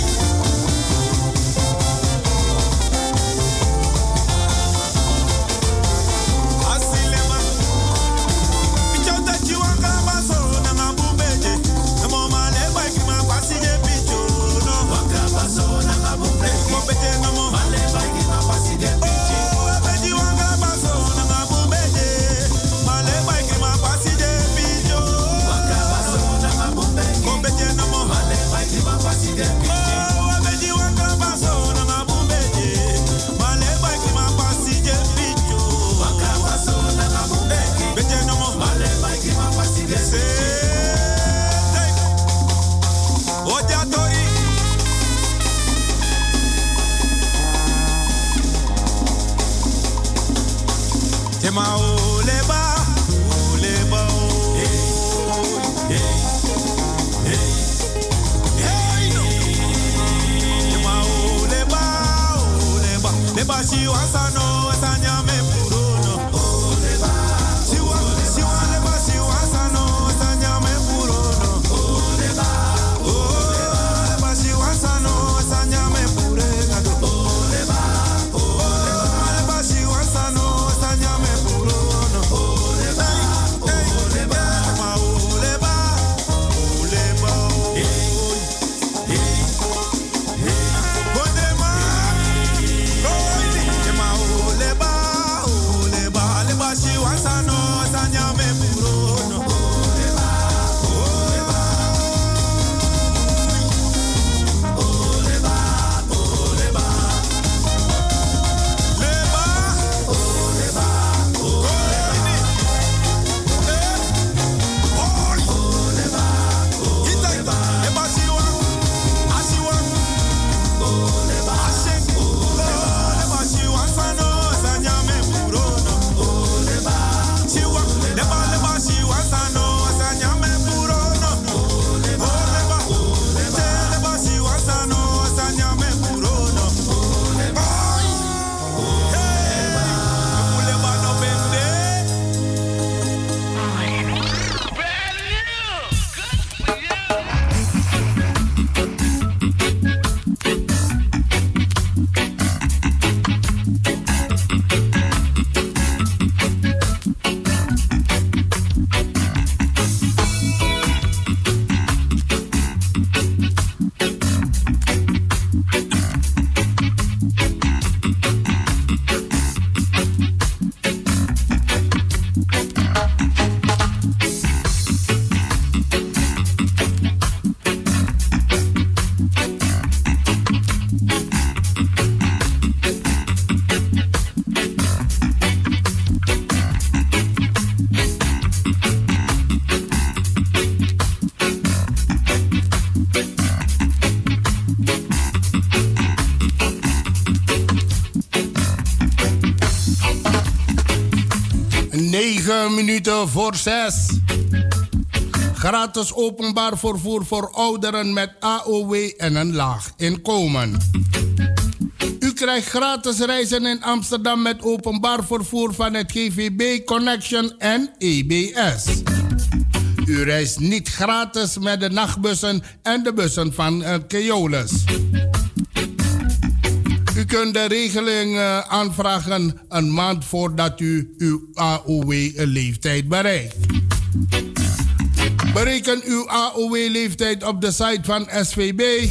Asilema Pichota chiwanga baso na mabumbeje Namo male bike ma pasije picho no Wanga baso na mabumbeje Kompete namo male bike ma pasije picho Abeji wanga baso na mabumbeje Male bike ma pasije picho Wanga baso na mabumbeje Kompete namo male bike ma pasije picho Abeji wanga baso na mabumbeje Male bike ma pasije picho Wanga baso na mabumbeje Bete namo male bike ma pasije picho Oja tori Tema oleba oleba Tema oleba oleba Leba shiwa sano sanya me purono oleba Shiwa leba shiwa sano sanya
minuten voor 6. Gratis openbaar vervoer voor ouderen met AOW en een laag inkomen. U krijgt gratis reizen in Amsterdam met openbaar vervoer van het GVB Connection en EBS. U reist niet gratis met de nachtbussen en de bussen van Keolis. U kunt de regeling aanvragen een maand voordat u uw AOW-leeftijd bereikt. Bereken uw AOW-leeftijd op de site van SVB.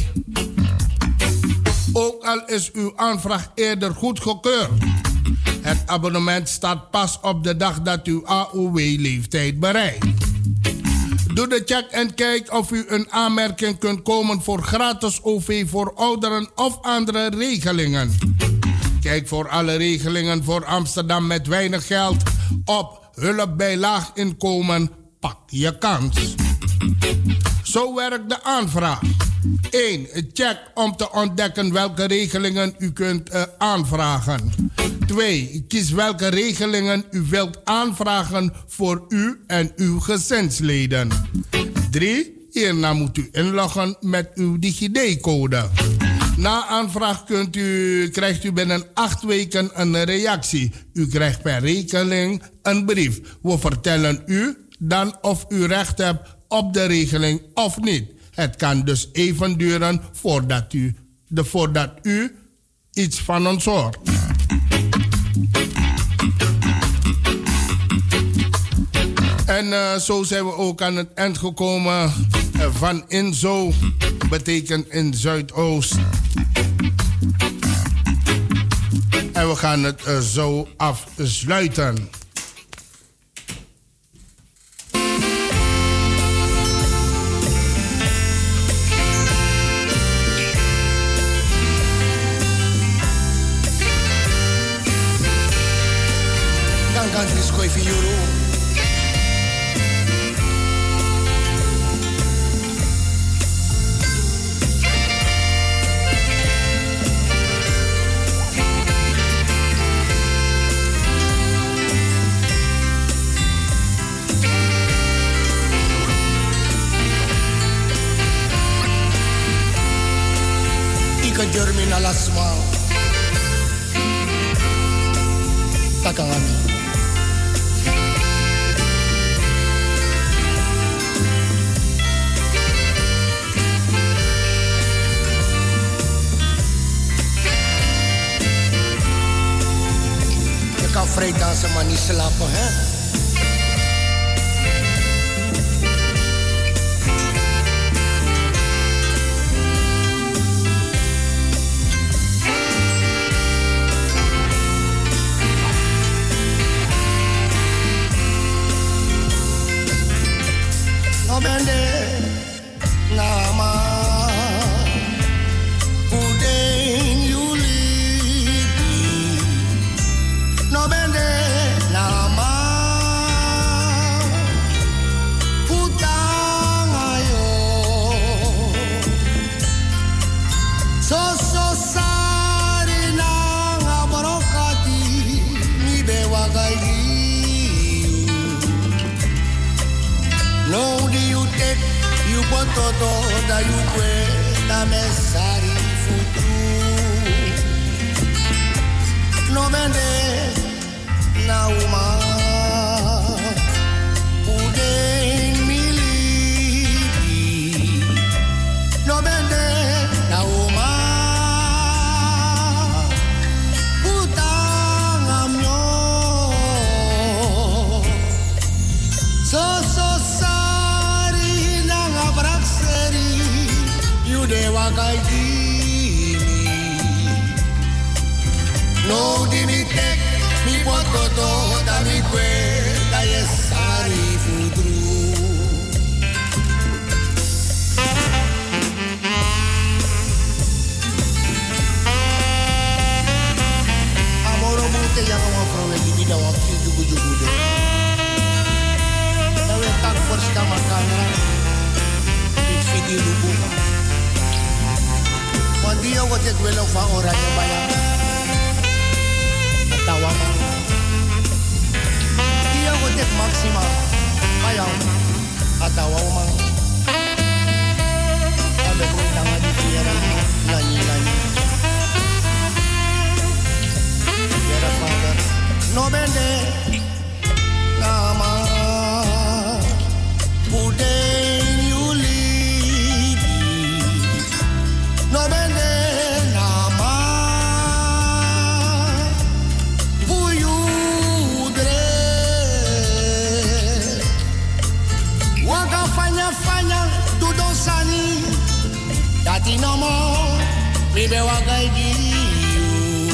Ook al is uw aanvraag eerder goedgekeurd. Het abonnement staat pas op de dag dat uw AOW-leeftijd bereikt. Doe de check en kijk of u een aanmerking kunt komen voor gratis OV voor ouderen of andere regelingen. Kijk voor alle regelingen voor Amsterdam met weinig geld op hulp bij laag inkomen. Pak je kans. Zo werkt de aanvraag. 1. Check om te ontdekken welke regelingen u kunt aanvragen. 2. Kies welke regelingen u wilt aanvragen voor u en uw gezinsleden. 3. Hierna moet u inloggen met uw DigiD-code. Na aanvraag krijgt u binnen 8 weken een reactie. U krijgt per regeling een brief. We vertellen u dan of u recht hebt op de regeling of niet. Het kan dus even duren voordat u iets van ons hoort. En zo zijn we ook aan het eind gekomen van Inzo, betekent in Zuidoost. En we gaan het zo afsluiten.
Germina lasma takangami je kan vrij dansen maar niet slapen hè. Todo da you da messari futuro no vende na uma udem milibi no vende na uma putanga mio so dewa kai dimi no dimi tek mi pototo da mi kwe da yesari futru amoro mute yang mo prove di da waktu jugu-jugu de da we tak first kama kamera video lupu. Want die jongen dit willen van oranje bayang. Tawa man. Die jongen dit maximaal. Maar jou, atawa man. Abe kuitanga di fiera, nani. Fiera father, no bende, nama. Puden you live, no bende nama. Dati no more, mi be wagai you.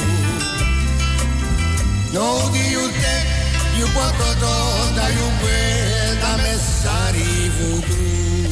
No do you take, you put da you wear da messari voodoo.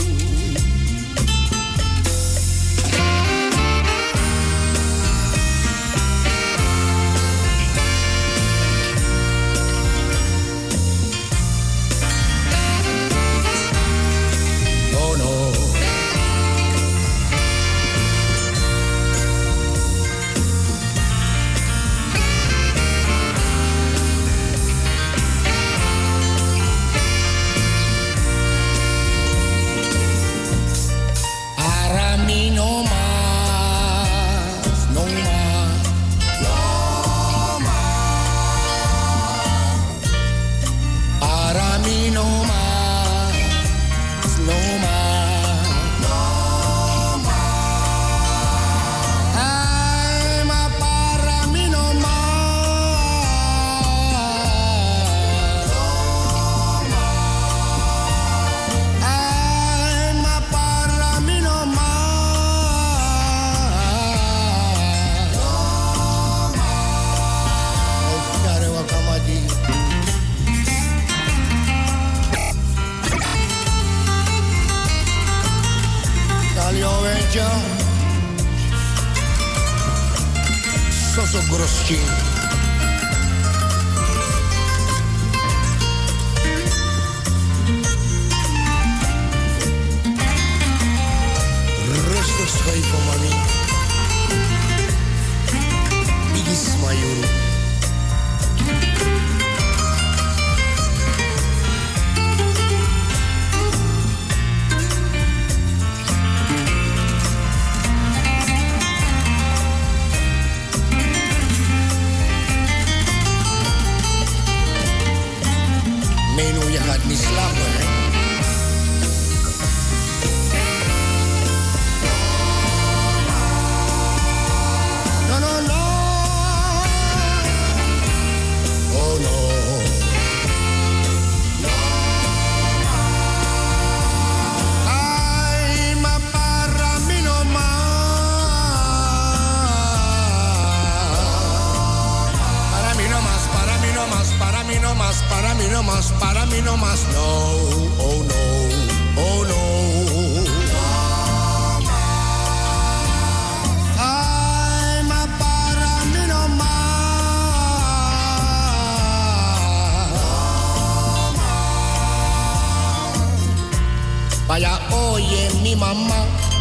Soso Groschi. Rustig schuiven, mami. Bigis Mayuru. Niet slapen, hè? No. Oh no. Ay, ma para mí no más. Para mí no más, para mí no más, para mí no más, para mí no más, para mí no más, no, oh no, oh no. Ay, ma para mí no más. Vaya, oye, mi mamá.